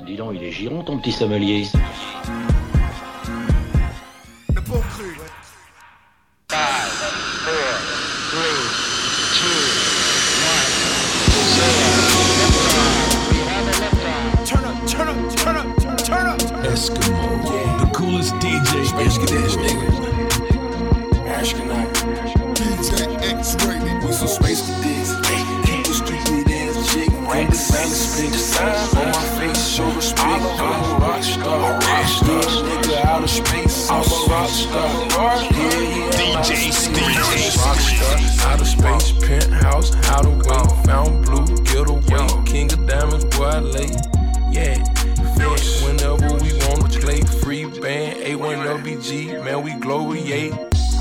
Dis donc, il est giron ton petit sommelier. Le bon cru. 5, 4, 3, 2, 1, 0. Turn up. Eskimo, the coolest DJ. Space nigga. Astronaut. DJ X-rated. We some space cadets. Keep the street lead ass chick. Rank split. Signs on my face, show respect. I'm a rock star. Nigga out of space. I'm a rock star. DJ Steve. Rock star. Out of space, penthouse, how to wait. Found blue, get away. King of diamonds, boy, I lay. Yeah. Whenever we wanna play, free band, A1LBG, man, we glow, we yay.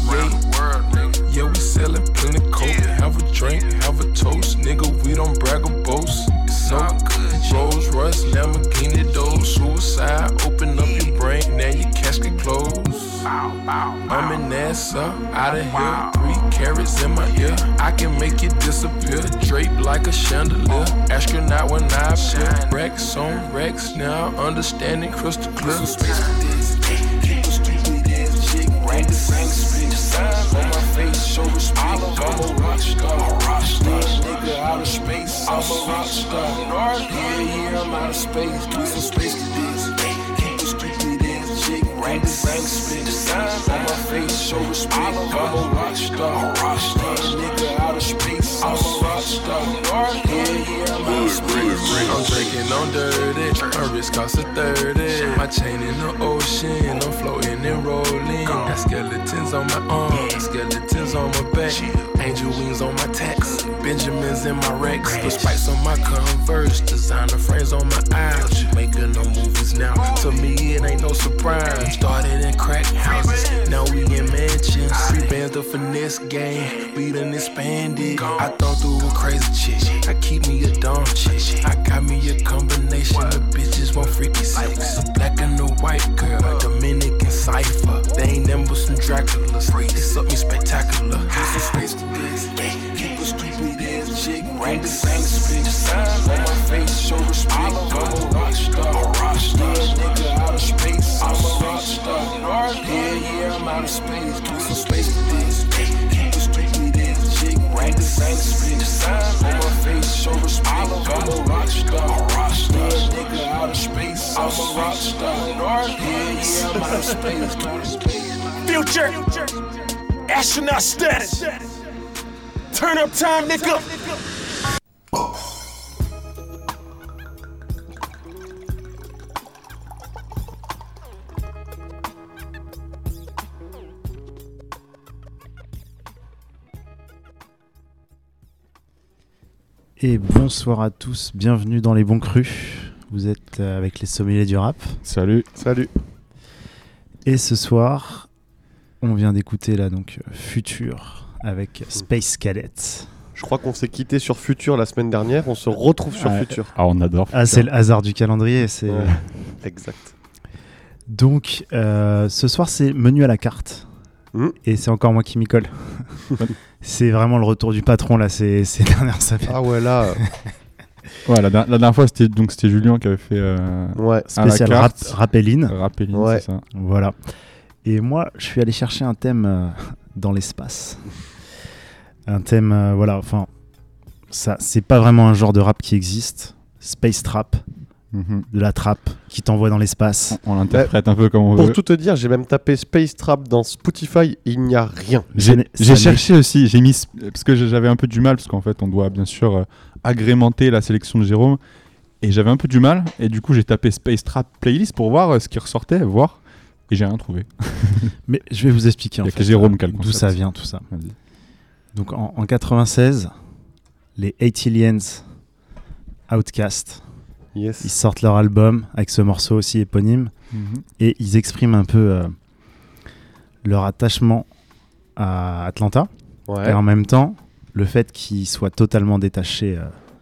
Yeah, we sellin' plenty coke, have a drink, have a toast, nigga, we don't brag or boast. It's all good. Rolls Royce, Lamborghini, doors, suicide, open up your brain, now your casket closed. I'm in NASA, out of here, 3 carats in my ear, I can make it disappear, draped like a chandelier, astronaut when I appear, Rex on Rex, now understanding crystal clear. Keep the street lead ass chick, rank the same split, signs on my face, show respect, I'm a rock star, nigga out of space, I'm a rock star, yeah, I'm out of space, do some space cadets, keep the street lead ass chick, rank the same split, signs on my face, show respect, I'm a rock star, nigga out of space, I'm a rock star, yeah, I'm out of space. I'm drinking on dirty, my wrist costs a 30. My chain in the ocean, I'm floating and rolling. Got skeletons on my arms, skeletons on my back. Angel wings on my tacks, Benjamins in my Rex. Put spikes on my Converse, designer frames on my eyes. Making no movies now, to me it ain't no surprise. Started in crack houses, now we in mansions. 3 bands the finesse game, we done expanded. I thought through a crazy chick, I keep me a dumb chick. I got me a combination of bitches want freaky sex. A black and a white girl, Dominican cipher. They ain't them but some Draculas. They suck me spectacular. Some space cadets, keep a stupid ass chick. Rank the same split, signs on my face, show respect. I'm a rock star, nigga out of space. I'm a rock star, yeah, I'm out of space. Do some space cadets, keep a stupid ass chick. Rank the same split, signs on my face, show respect. I'm a rock star, nigga out of space. I'm a rock star, yeah, I'm out of space. Future. Astronaut status. Turn up time, nigga. Et bonsoir à tous, bienvenue dans les bons crus. Vous êtes avec les sommeliers du rap. Salut. Et ce soir, on vient d'écouter là donc Future avec Space Cadet. Je crois qu'on s'est quitté sur Future la semaine dernière, on se retrouve sur Future. Ah, on adore. Ah, c'est le hasard du calendrier. C'est... Ouais, exact. Donc, ce soir, c'est menu à la carte. Et c'est encore moi qui m'y colle. C'est vraiment le retour du patron là, ces dernières semaines. Ah ouais, là. Ouais, la dernière fois, c'était Julien qui avait fait ouais. Spécial Rappeline. Rappeline, ouais. C'est ça. Voilà. Et moi, je suis allé chercher un thème dans l'espace. Un thème, voilà, enfin, ça, c'est pas vraiment un genre de rap qui existe. Space trap, de la trappe qui t'envoie dans l'espace. On l'interprète un peu comme on veut. Pour tout te dire, j'ai même tapé Space Trap dans Spotify, il n'y a rien. J'ai cherché aussi, j'ai mis, parce que j'avais un peu du mal, parce qu'en fait, on doit bien sûr agrémenter la sélection de Jérôme. Et j'avais un peu du mal, et du coup, j'ai tapé Space Trap Playlist pour voir ce qui ressortait, et j'ai rien trouvé. Mais je vais vous expliquer en fait, Jérôme d'où ça vient tout ça. Vas-y. Donc en 96, les 80liens, Outkast, Yes. ils sortent leur album avec ce morceau aussi éponyme et ils expriment un peu leur attachement à Atlanta et en même temps le fait qu'ils soient totalement détachés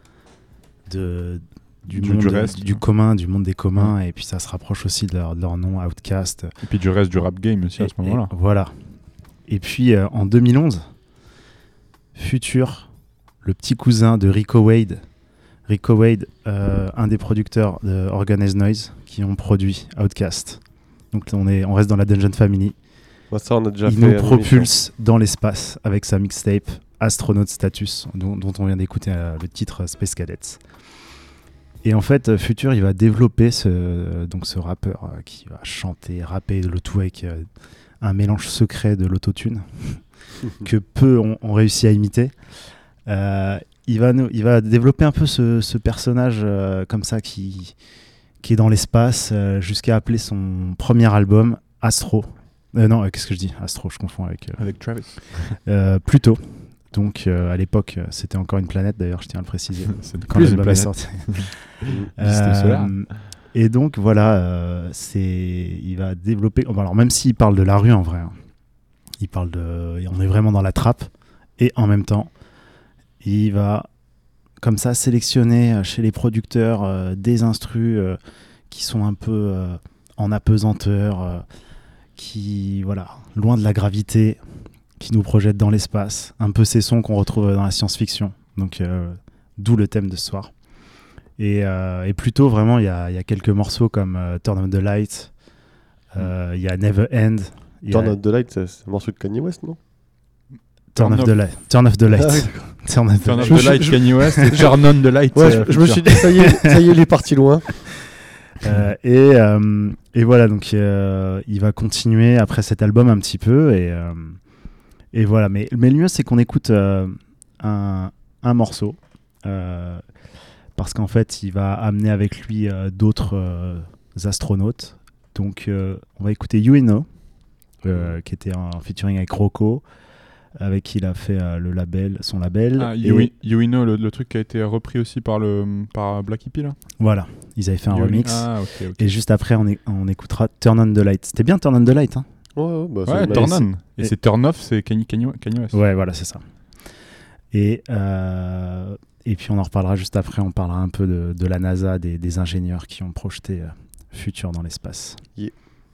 du monde du reste, du commun, du monde des communs, et puis ça se rapproche aussi de leur nom, Outkast. Et puis du reste du rap game aussi à ce moment-là. Voilà. Et puis en 2011, Future, le petit cousin de Rico Wade, Rico Wade, un des producteurs de Organized Noise qui ont produit Outkast. Donc on reste dans la Dungeon Family. Bah, ça, on a déjà Il fait nous une propulse dans l'espace avec sa mixtape Astronaut Status, dont on vient d'écouter le titre Space Cadets. Et en fait, Future, il va développer ce rappeur qui va chanter, rapper, le tout avec un mélange secret de l'autotune que peu ont réussi à imiter. Il va développer un peu ce personnage comme ça qui est dans l'espace jusqu'à appeler son premier album Astro. Non, qu'est-ce que je dis ? Astro, je confonds avec Travis. Pluto. Donc à l'époque, c'était encore une planète d'ailleurs, je tiens à le préciser. C'est Quand plus une l'album est planète. sorti. Système solaire. Et donc voilà, il va développer. Alors même s'il parle de la rue en vrai, hein, on est vraiment dans la trappe. Et en même temps, il va comme ça sélectionner chez les producteurs des instrus qui sont un peu en apesanteur, qui loin de la gravité, qui nous projettent dans l'espace. Un peu ces sons qu'on retrouve dans la science-fiction. Donc d'où le thème de ce soir. Et plutôt vraiment, il y a quelques morceaux comme Turn on the Light, il y a Never End. Turn of the Light, c'est un morceau de Kanye West, non? Turn off the light. Ah oui, Turn off the Turn light. off the light, Kanye West, et Turn on the light. Ouais, je me suis dit, ça y est, il est parti loin. Et voilà, donc il va continuer après cet album un petit peu. Et voilà, mais le mieux, c'est qu'on écoute un morceau. Parce qu'en fait, il va amener avec lui d'autres astronautes. Donc, on va écouter You Know, qui était en featuring avec Rocco, avec qui il a fait son label. Ah, You Know, le truc qui a été repris aussi par Black Hippie, là. Voilà, ils avaient fait un remix. Ah, ok. Et juste après, on écoutera Turn on the Light. C'était bien Turn on the Light, hein? Ouais, Turn on. Et c'est Turn off, c'est Kanye West. Ouais, voilà, c'est ça. Et puis on en reparlera juste après, on parlera un peu de la NASA, des ingénieurs qui ont projeté Future dans l'espace. Yeah.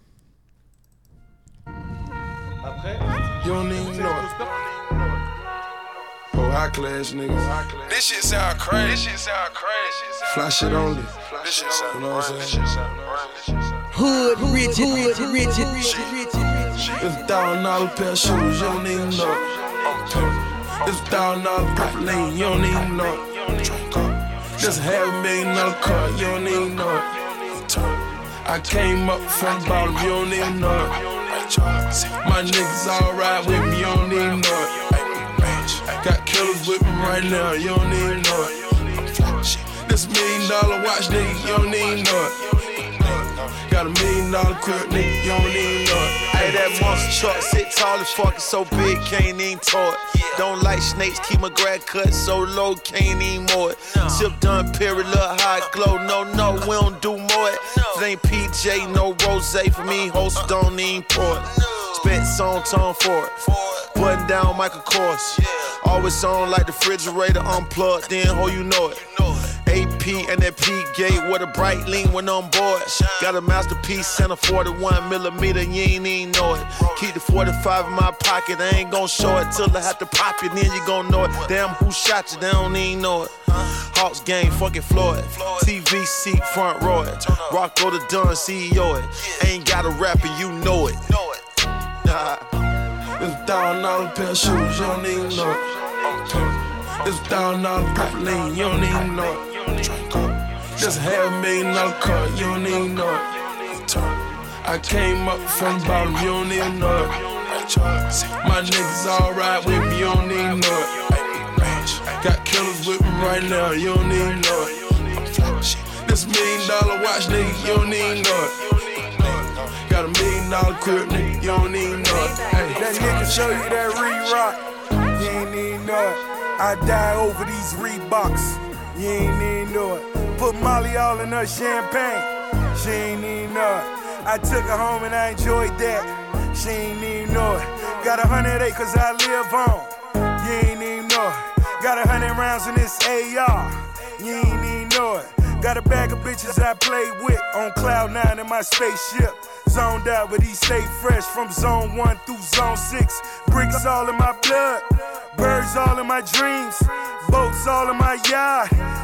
Après, you don't even know it. Oh, high class niggas. This shit sound crazy. Fly shit only. You know what I'm saying? Hood, rigid. It's $1,000 pair of shoes, you don't even know it. It's $1,000 purple lane, you don't even know it. This $500,000 car, you don't even know it. I came up from the bottom, you don't even know it. My niggas all ride with me, you don't even know it. Got killers with me right now, you don't even know it. This $1 million watch, nigga, you don't even know it. Got $1 million crib, nigga, you don't even know it. Hey, that monster truck sit tall as fuck, it's so big, can't even tow it. Don't like snakes, keep my grad cut so low, can't even mow it. Sip done, period, look high glow. No, we don't do more it. If it ain't PJ, no rose for me, host don't even pour it. Spent song tone for it. Button down Michael Kors. Always on like the refrigerator unplugged, then ho, you know it. AP and that P gate with a bright lean when on board. Got a masterpiece and a 41mm, you ain't even know it. Keep the 45 in my pocket, I ain't gon' show it till I have to pop it, then you gon' know it. Damn, who shot you, they don't even know it. Hawks game, fucking Floyd. TV seat, front row it. Rocco the Dunn, CEO it. Ain't got a rapper, you know it. It's $1,000 pair of shoes, you don't even know it. It's $1,000 purple lane, you don't even know it. This $500,000 car, you don't even know it. I came up from the bottom, you don't even know it. My niggas all ride with me, you don't even know it. Got killers with me right now, you don't even know it. This $1 million watch, nigga, you don't even know it. Got $1 million crib, nigga, you don't even know it. Hey. That nigga show you that re-rock, you ain't even know it. I die over these Reeboks, you ain't even know it. Put Molly all in her champagne, she ain't even know it. I took her home and I enjoyed that, she ain't even know it. Got 100 acres I live on, you ain't even know it. Got 100 rounds in this AR, you ain't even know it. Got a bag of bitches I play with on cloud 9 in my spaceship. Zoned out, but he stay fresh from zone 1 through zone 6. Bricks all in my blood, birds all in my dreams, boats all in my yard.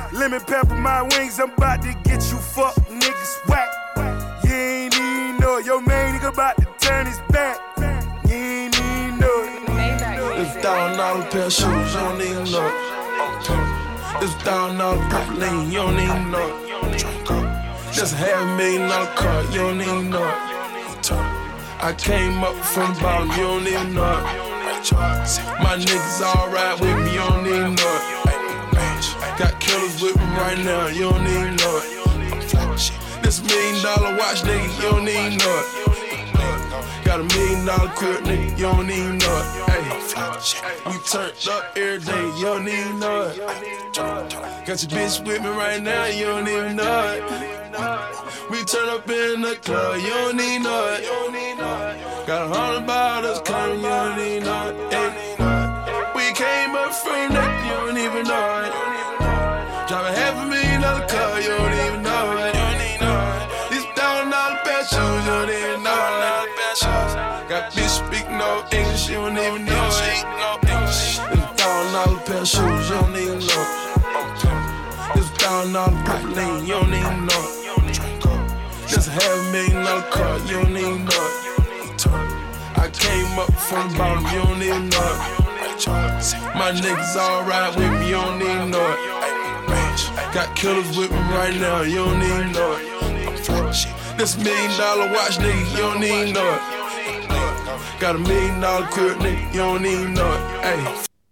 Lemon pepper my wings, I'm about to get you fuck niggas whack. You ain't even know it. Your main nigga about to turn his back. You ain't even know it. It's $1,000 pair of shoes, you don't even know it. It's $1,000 propylene, you don't even know it. Just $500,000 car, you don't even know it. I came up from the bottom, you don't even know it. My niggas all ride with me, you don't even know it. Got killers with me right now, you don't even know it. This $1 million watch, nigga, you don't even know it. Got $1 million crib, nigga, you don't even know it. Ay, we turned up every day, you don't even know it. Got your bitch with me right now, you don't even know it. We turn up in the club, you don't even know it. Got 100 bottles coming, you don't even know it. Ay, we came up from that, you don't even know it. Drive $500,000 car, you don't even know it. These $1,000 pair of shoes, you don't even know it. Got bitch speak no English, you don't even know it. This $1,000 pair of shoes, you don't even know it. This $1,000 propylene, you don't even know it. This $500,000 car, you don't even know it. I came up from the bottom, you don't even know it. My niggas all ride with me, you don't even know it. Got killers with me right now, you don't even know it. This $1 million watch, nigga, you don't even know it. Got $1 million crib, nigga, you don't even know it. Ay.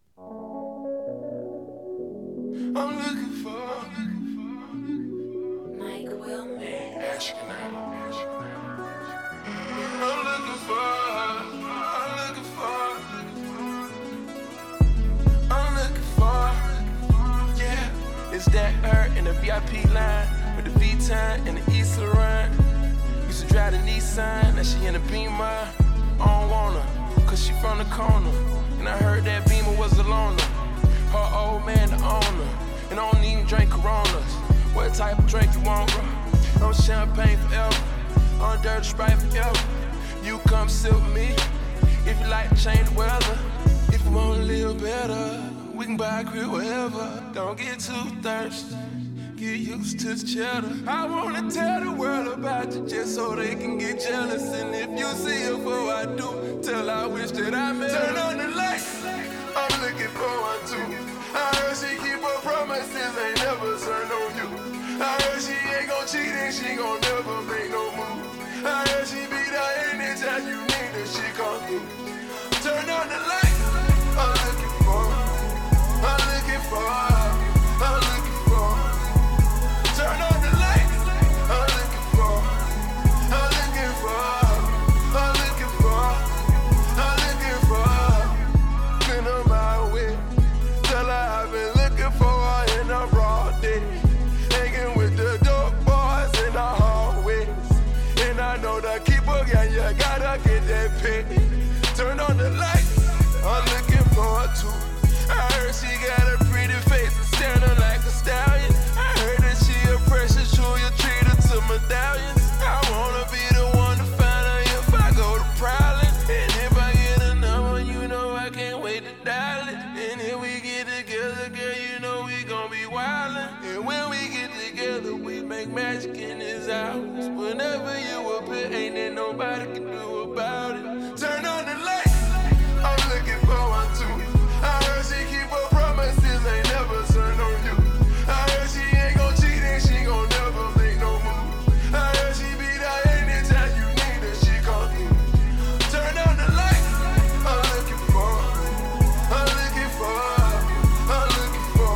I'm looking for Mike Wilmer. I'm looking for it's that her in the VIP line with the V-Time and the East Laurent. Used to drive the Nissan, now she in the Beamer. I don't want her, cause she from the corner. And I heard that Beamer was a loner. Her old man the owner, and I don't even drink Coronas. What type of drink you want, bro? I'm champagne forever, I'm dirty Sprite forever. You come sit with me, if you like to change the weather. If you wanna live better, we can buy a crib wherever. Don't get too thirsty, get used to the cheddar. I wanna tell the world about you just so they can get jealous. And if you see her before I do, tell I wish that I met her. Turn on the lights, I'm looking for one too. I heard she keep her promises, ain't never turn on you. I heard she ain't gon' cheat and she gon' never make no move. I heard she be there anytime you need her, she come through. Turn on the lights, I'm looking for her. I'm looking for, I'm looking for. Turn on the lights. I'm looking for, I'm looking for, I'm looking for, I'm looking for. Been on my way. Tell her I've been looking for her in a broad day. Hanging with the dope boys in the hallways. And I know the keeper, yeah, you gotta get that pay. Turn on the lights. I'm looking for her too. I heard she got a pretty face and standing like a stallion. I heard that she a precious jewel, you treat her to medallions. I wanna be the one to find her if I go to Prowling. And if I get a number, you know I can't wait to dial it. And if we get together, girl, you know we gon' be wildin'. And when we get together, we make magic in this house. Whenever you appear, ain't there nobody can do about it. Turn on the lights, I'm looking for one too. I heard she keep her promises, ain't never turn on you. I heard she ain't gon' cheat and she gon' never make no move. I heard she be there anytime you need her, she come through. Turn on the lights, I'm looking for, I'm looking for, I'm looking for.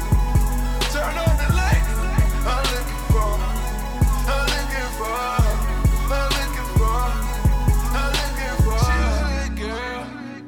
Turn on the lights, I'm looking for, I'm looking for, I'm looking for, I'm looking for. She's a good girl,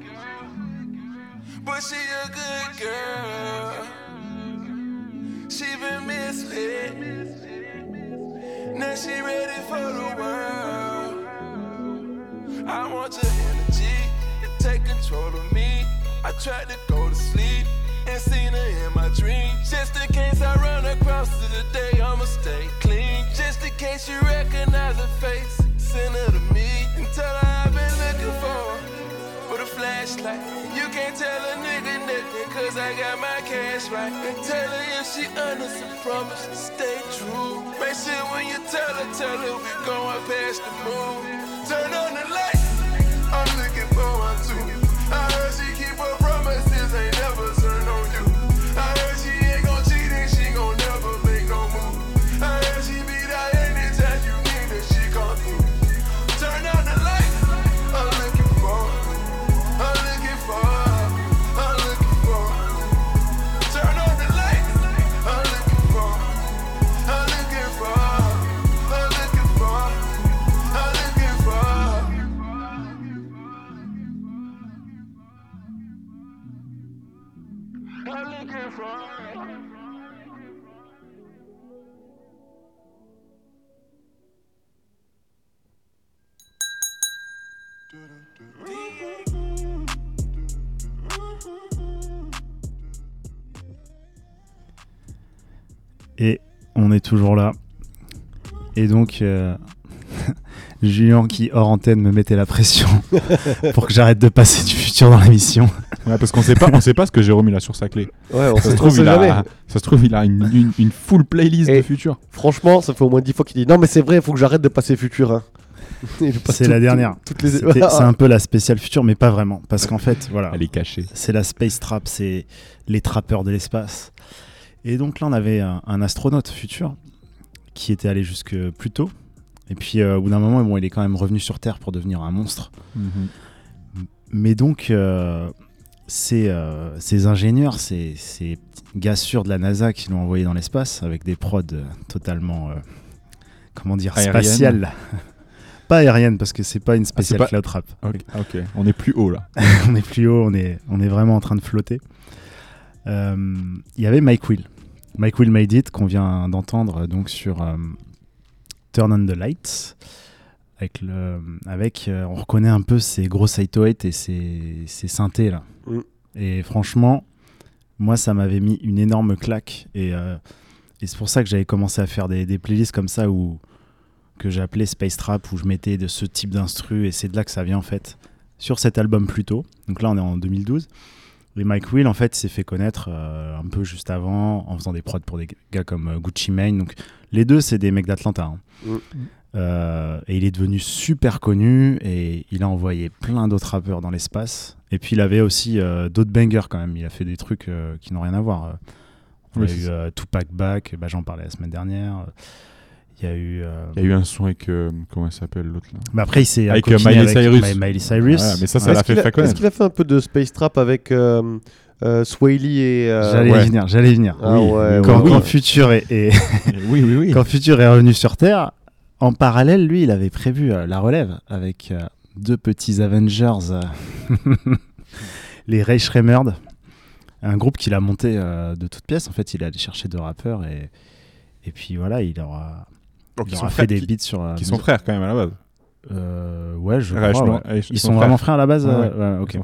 but she a good girl. She been misled. Now she ready for the world. I want your energy to take control of me. I tried to go to sleep and seen her in my dreams. Just in case I run across her today, I'ma stay clean. Just in case you recognize her face, send her to me and tell her I've been looking for her with a flashlight. You can't tell a nigga nothing, cause I got my cash that's right. And tell her if she honest and promise to stay true. Make sure when you tell her we going past the moon. Turn on the light, I'm looking forward to. I heard she keep her promises, ain't never turn on you. I heard she ain't gon' cheat and she gon' never make no move. I heard she be there anytime you need her, she come through. Turn on the light, I'm looking for. Turn on the light, I'm looking for. Et on est toujours là. Et donc, Julien qui, hors antenne, me mettait la pression pour que j'arrête de passer du futur dans l'émission. Ouais, parce qu'on sait pas ce que Jérôme il a sur sa clé. Ouais, Ça se trouve, il a une full playlist de futur. Franchement, ça fait au moins 10 fois qu'il dit non, mais c'est vrai, il faut que j'arrête de passer futur. Hein. C'est la dernière. C'est un peu la spéciale future, mais pas vraiment. Parce qu'en fait, voilà. Elle est cachée. C'est la Space Trap, c'est les trappeurs de l'espace. Et donc là, on avait un astronaute futur qui était allé jusque plus tôt. Et puis, au bout d'un moment, bon, il est quand même revenu sur Terre pour devenir un monstre. Mm-hmm. Mais donc, ces ingénieurs, ces gars sûrs de la NASA qui l'ont envoyé dans l'espace avec des prods totalement, spatiales. Pas aérienne, parce que c'est pas une spéciale cloud trap. Ok, on est plus haut là. On est plus haut, on est vraiment en train de flotter. Il y avait Mike Will Made It qu'on vient d'entendre donc sur Turn on the Lights avec on reconnaît un peu ces gros 808 et ces synthés là. Et franchement moi ça m'avait mis une énorme claque et c'est pour ça que j'avais commencé à faire des playlists comme ça que j'ai appelé Space Trap, où je mettais de ce type d'instru, et c'est de là que ça vient en fait sur cet album plus tôt. Donc là on est en 2012. Et Mike Will, en fait, s'est fait connaître un peu juste avant en faisant des prods pour des gars comme Gucci Mane. Donc, les deux, c'est des mecs d'Atlanta. Hein. Et il est devenu super connu et il a envoyé plein d'autres rappeurs dans l'espace. Et puis, il avait aussi d'autres bangers quand même. Il a fait des trucs qui n'ont rien à voir. Il y a eu Tupac Back, j'en parlais la semaine dernière. Il y a eu un son avec comment il s'appelle l'autre là. Mais après il s'est avec Miley Cyrus. Miley Cyrus. Ouais, mais ça l'a fait connaître. Est-ce qu'il a fait un peu de Space Trap avec Sway Lee et J'allais venir. Ah ouais, quand Future est oui. Quand Future est revenu sur Terre, en parallèle, lui, il avait prévu la relève avec deux petits Avengers, les Ray Shremmerd, un groupe qu'il a monté de toutes pièces. En fait, il est allé chercher deux rappeurs et puis voilà, il aura fait des beats sur... Qui sont frères quand même à la base. Ouais, je crois. Ouais. Ils sont vraiment frères à la base. Ouais, ok.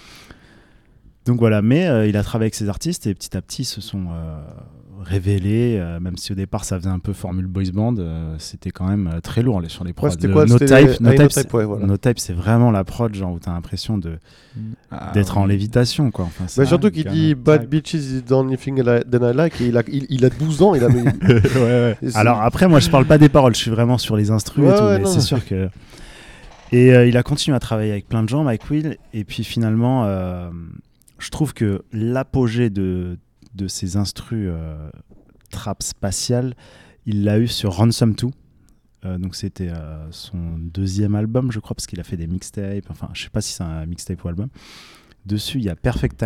Donc voilà, mais il a travaillé avec ces artistes et petit à petit ils se sont révélés, même si au départ ça faisait un peu formule boys band, c'était quand même très lourd sur les prods. No Type, c'est vraiment la prod genre où t'as l'impression d'être en lévitation quoi. Enfin, mais surtout qu'il dit Bad Bitches is the only thing that I like et il a 12 ans, il a ouais. Alors après moi je parle pas des paroles, je suis vraiment sur les instrus et tout, mais c'est sûr que... Et il a continué à travailler avec plein de gens, Mike Will, et puis finalement je trouve que l'apogée de ces instrus trap spatial, il l'a eu sur Ransom 2. Donc c'était son deuxième album, je crois, parce qu'il a fait des mixtapes. Enfin, je sais pas si c'est un mixtape ou album. Dessus, il y a Perfect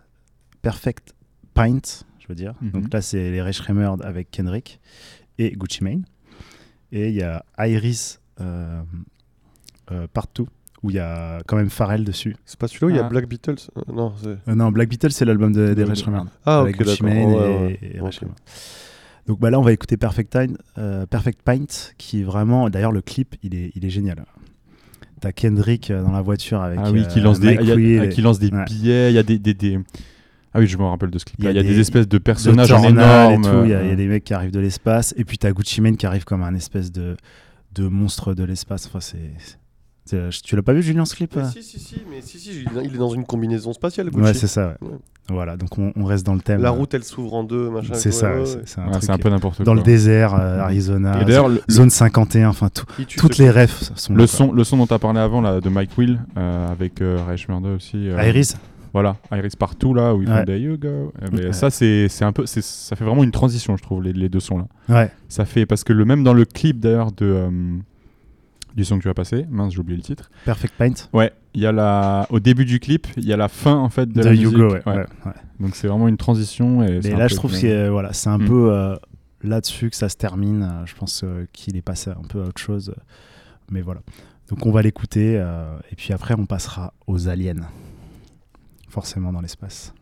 Pint, je veux dire. Donc là, c'est les Ray Shremmerd avec Kendrick et Gucci Mane. Et il y a Iris Part 2. Où il y a quand même Pharrell dessus. C'est pas celui-là où il y a Black Beatles non, Black Beatles, c'est l'album des Ray Shremmerd. Avec Gucci Mane et Ray Shremmerd. Donc là, on va écouter Perfect Pint, qui est vraiment... D'ailleurs, le clip, il est génial. T'as Kendrick dans la voiture avec qui lance des billets. Il y a des... Ah oui, je me rappelle de ce clip. Il y a des espèces de personnages énormes. Il y a des mecs qui arrivent de l'espace. Et puis t'as Gucci Mane qui arrive comme un espèce de monstre de l'espace. Enfin, tu l'as pas vu, Julien, ce clip? Si, il est dans une combinaison spatiale, Gucci. Ouais, c'est ça. Ouais. Voilà, donc on reste dans le thème. La route, elle s'ouvre en deux, machin. C'est ça, ouais, c'est, ouais. c'est un Ouais, truc c'est un peu n'importe quoi. dans le désert, Arizona, Et d'ailleurs, zone 51, enfin Qui tue toutes ce les truc. refs sont le là, son dont tu as parlé avant là, de Mike Will avec Ray Murder aussi. quoi. Iris. Voilà, Iris partout là où ils font Ouais. There You Go. Mais Ouais. ça c'est un peu ça fait vraiment une transition je trouve les deux sons là. Ouais. Ça fait parce que même dans le clip d'ailleurs du son que tu as passé, mince j'ai oublié le titre. Perfect Paint. Ouais, il y a au début du clip, il y a la fin en fait de De la You musique. Go, ouais. Ouais. Ouais, ouais. Donc c'est vraiment une transition et Mais là, je trouve que voilà, c'est un Mm. peu là-dessus que ça se termine. Je pense qu'il est passé un peu à autre chose. Mais voilà. Donc on va l'écouter et puis après on passera aux aliens. Forcément dans l'espace.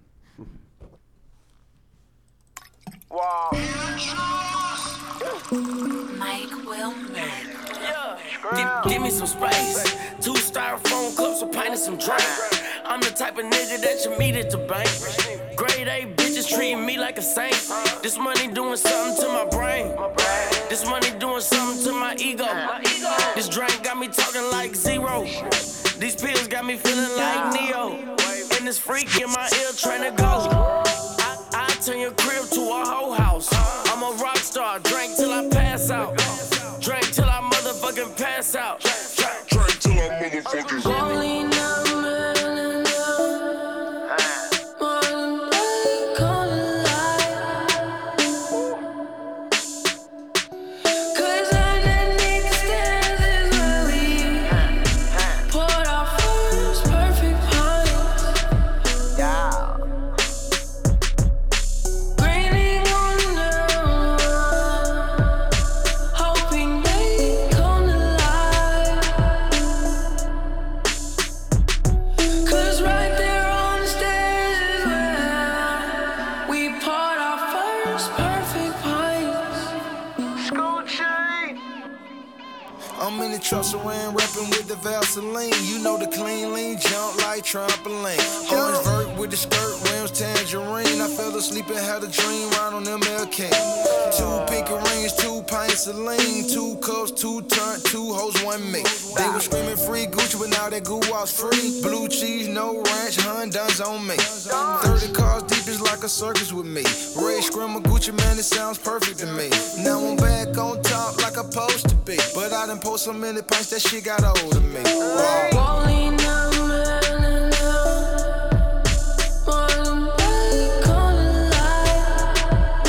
Mike Will give me some space. 2 styrofoam cups, a pint and some drink. I'm the type of nigga that you meet at the bank. Grade A bitches treating me like a saint. This money doing something to my brain. This money doing something to my ego. This drink got me talking like zero. These pills got me feeling like Neo. And this freak in my ear trying to go. I turn your crib to a whole house. I'm a rock star, drink till I pass out. Drink till I motherfucking pass out. Drink till I motherfucking Rolling up, man, more than black on the light. 'Cause underneath the stairs is where we poured our first perfect pints. Yeah. Raining on them, hoping they come to life. 'Cause right there on the stairs is where we poured our first perfect pints. School chain. I'm in the truck around rapping with the Vaseline. You know the clean lean jump like trampoline. Orange vert with the skirt, rims tangerine. I fell asleep and had a dream right on MLK. 2 pink rings, 2 pints of lean, 2 cups, 2 turn, 2 hoes, 1 me. They were screaming free Gucci, but now that goo was free. Blue cheese, no ranch, Honda's on me. 30 cars deep is like a circus with me. Red screamer Gucci, man, it sounds perfect to me. Now I'm back on top like I'm supposed to be. But I done post so many pints that shit got old of me. Wow. Rolling up, man, more than black on the light.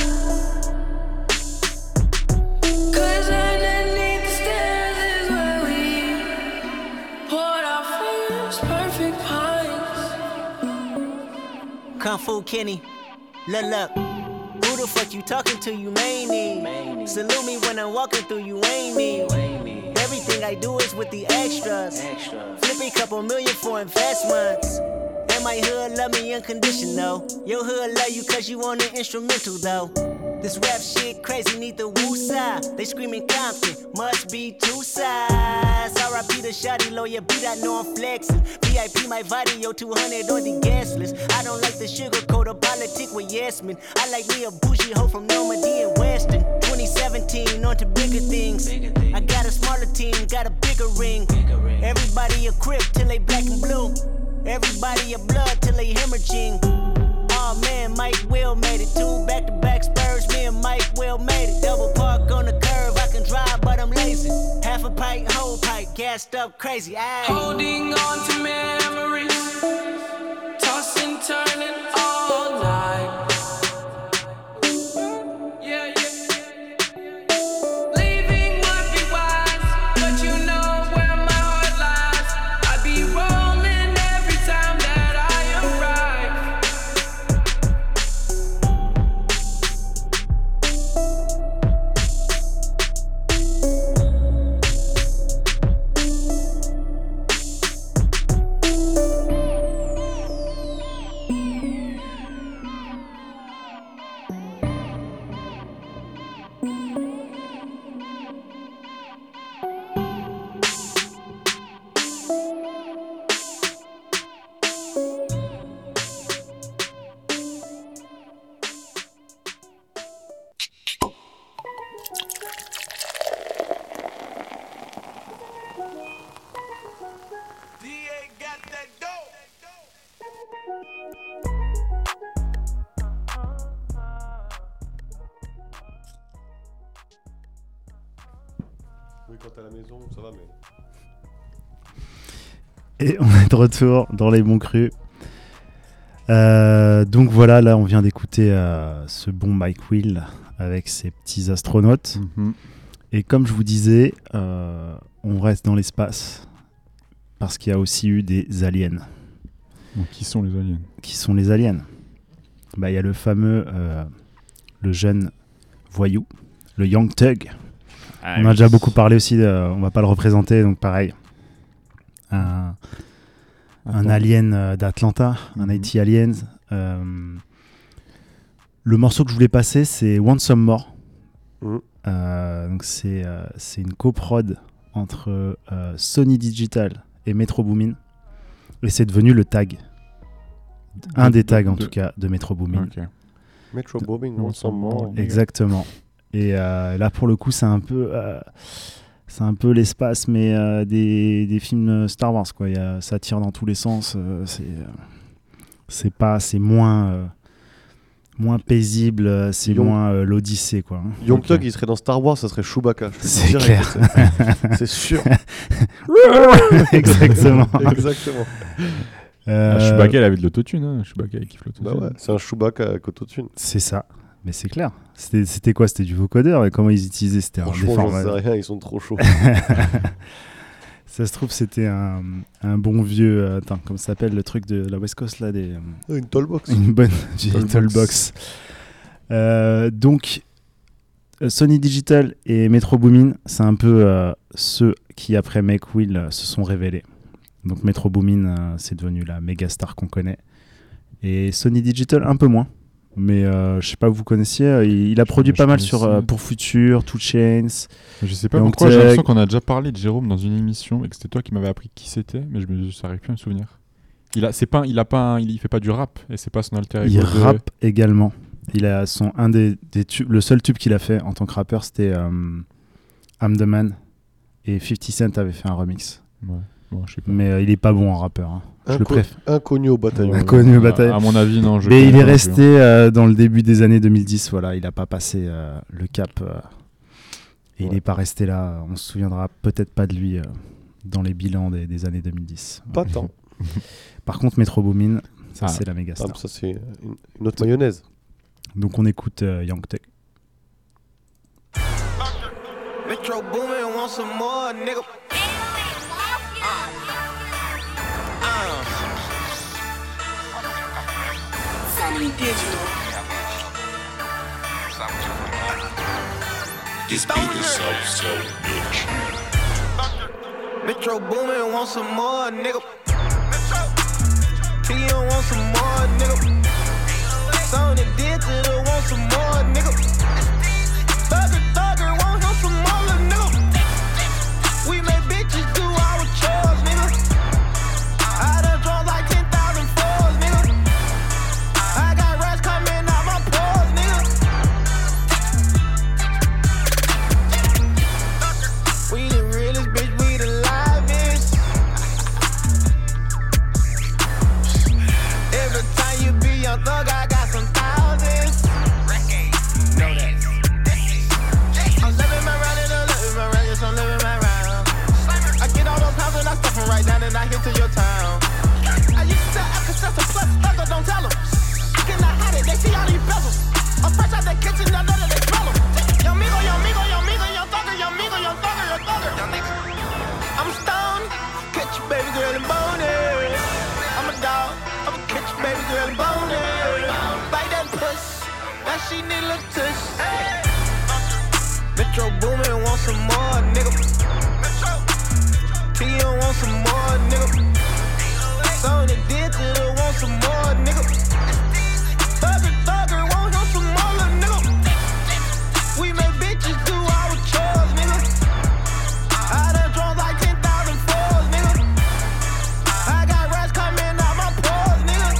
'Cause underneath the stairs is where we poured our first perfect pints. Kung Fu Kenny, look, who the fuck you talking to, you maney? Salute me when I'm walking through, you ain't me. Everything I do is with the extras. Flip a couple million for investments. And my hood love me unconditional. Your hood love you cause you on the instrumental though. This rap shit crazy, need the woo side. They screaming Compton, must be 2 sides. R.I.P. the shawty lawyer, beat I know I'm flexing. VIP my video 200 on the gas list. I don't like the sugarcoat or politic with yes men. I like me a bougie hoe from Normandy and Weston. 2017 on to bigger things. I got a smaller team, got a bigger ring. Everybody a crip till they black and blue. Everybody a blood till they hemorrhaging. Oh man, Mike Will made it. 2 back-to-back Spurs, me and Mike Will made it. Double park on the curve, I can drive, but I'm lazy. Half a pipe, whole pipe, gassed up crazy. Aye. Holding on to memories, tossing, turning all night. Yeah. Leaving would be wise, but you know where my heart lies. I'd be rolling every time that I arrive. Oui, quand t'es à la maison, ça va, mais. Et on est de retour dans les bons crus. Donc voilà, là on vient d'écouter ce bon Mike Will avec ses petits astronautes. Et comme je vous disais, on reste dans l'espace parce qu'il y a aussi eu des aliens. Donc, qui sont les aliens ? Qui sont les aliens ? Il y a le fameux, le jeune voyou, le Young Thug. On a déjà beaucoup parlé aussi, on va pas le représenter, donc pareil. Un alien d'Atlanta, un IT Aliens. Le morceau que je voulais passer, c'est Want Some More. Donc c'est une coprod entre Sony Digital et Metro Boomin. Et c'est devenu le tag. Un des tags en tout cas de Metro Boomin. Okay. Metro Boomin, Want Some More. Exactement. Et là pour le coup c'est un peu l'espace mais des films Star Wars quoi. Ça tire dans tous les sens. C'est moins paisible, c'est moins l'Odyssée quoi. Young Thug il serait dans Star Wars, ça serait Chewbacca. C'est clair. C'est sûr. Exactement. Exactement. Chewbacca il avait de l'autotune, hein. Chewbacca il kiffe l'autotune. Bah ouais, c'est un Chewbacca avec autotune. C'est ça. Mais c'est clair. C'était quoi ? C'était du vocodeur et comment ils utilisaient ? C'était un Franchement, j'en sais rien, ils sont trop chauds. Ça se trouve, c'était un bon vieux. Attends, comment ça s'appelle le truc de la West Coast là une Tollbox. Une bonne vieille Tollbox. Donc, Sony Digital et Metro Boomin, c'est un peu ceux qui, après Make Will, se sont révélés. Donc, Metro Boomin, c'est devenu la méga star qu'on connaît. Et Sony Digital, un peu moins. Mais je sais pas, vous connaissiez, il a produit pas mal pour Future, 2 Chainz. Je sais pas pourquoi, j'ai l'impression qu'on a déjà parlé de Jérôme dans une émission et que c'était toi qui m'avais appris qui c'était, mais je n'arrive plus à me souvenir. Il fait pas du rap et c'est pas son alter ego. Il rappe également. Il a des tubes, le seul tube qu'il a fait en tant que rappeur, c'était I'm the Man et 50 Cent avait fait un remix. Ouais. Bon, je sais pas. Mais il est pas bon en rappeur. Hein. Je le préfère. Inconnu au bataillon. Inconnu au bataillon. À mon avis, non. Mais il est resté dans le début des années 2010. Voilà, il a pas passé le cap. Et il n'est pas resté là. On se souviendra peut-être pas de lui dans les bilans des années 2010. Pas tant. Par contre, Metro Boomin, ça c'est la méga star. Ça c'est une autre mayonnaise. Donc on écoute Young Thug. Metro Boomin want some more, nigga. Digital. This beat is so bitch. Metro Boomin want some more, nigga. T.O. want some more, nigga. Sony Digital want some more, nigga. Thugger want him some more, nigga. We make bitches do our chores, nigga. I done drawn like 10,000 fours, nigga. I got rats coming out my pores, nigga. We the realest bitch, we the livest. Every time you be young thug, I got some thousands. Know that. I'm living my round and I'm living my round, yes, I'm living my round. I get all those pounds and I stuff them right down and I hit to your town. I used to tell Alka-Seltzer plus, thugger, don't tell them. I cannot hide it, they see all these bezels. I'm fresh out the kitchen, I know that they smell them. Young Migo, young Migo, young Migo, young thugger, young Migo, young thugger, young thugger. I'm stoned, catch your baby girl and bone it. I'm a dog, I'ma catch your baby girl and bone it. Bite that puss, that she need a little tush. Metro Boomin want some more, nigga. T.O. want some more, nigga. Sony Digital want some more, nigga. Thugger want him some more, nigga. We make bitches do our chores, nigga. I done drawn like 10,000 fours, nigga. I got rats coming out my pores, nigga.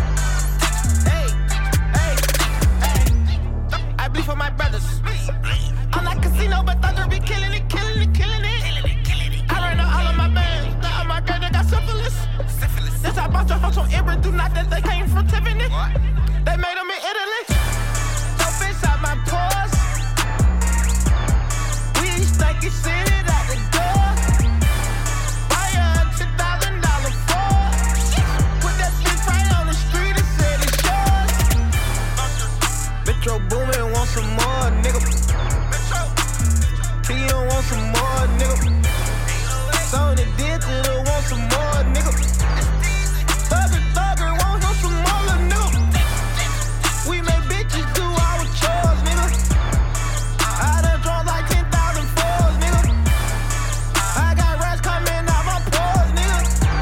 Hey. I bleed for my brothers. I'm like casino, but Thugger be killing it. I ran out all of my bands. Now all my girls, they got syphilis. This I bought your house on Ember, do not that they came from Tiffany. They made them in Italy. Dope inside my pores. We stanky city that want some more, nigga. So the digital want some more, nigga. Thugger, want him some more, little nigga. We make bitches do our chores, nigga. I done drunk like 10,000 fours, nigga. I got rats coming out my pores, nigga.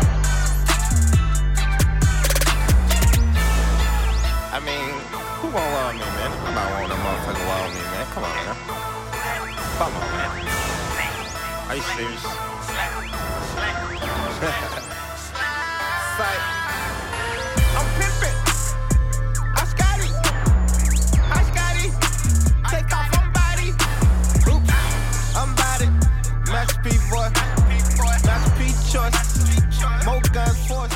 I mean, who won't love me, man? I'm not want that motherfucker love me, man. Come on, man. Come on, man. Are you serious? I'm pimpin'. I Scotty. Take off, I'm body. Oops, I'm body. Master P boy. Master P choice. More guns force.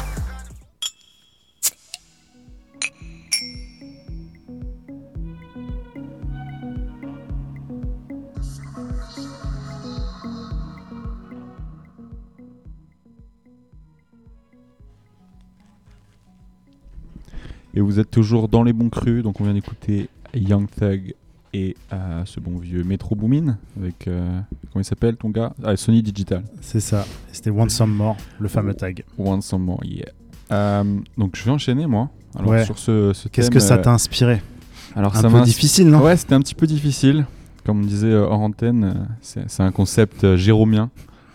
Et vous êtes toujours dans les bons crus, donc on vient d'écouter Young Thug et ce bon vieux Metro Boomin avec, comment il s'appelle ton gars? Sony Digital. C'est ça, c'était Want Some More, le fameux tag. Want Some More, yeah. Donc je vais enchaîner moi. Alors, ouais. Sur ce Qu'est-ce thème, que ça t'a inspiré? Alors, un peu difficile, non? Ouais, c'était un petit peu difficile. Comme on disait hors antenne, c'est un concept jérômien.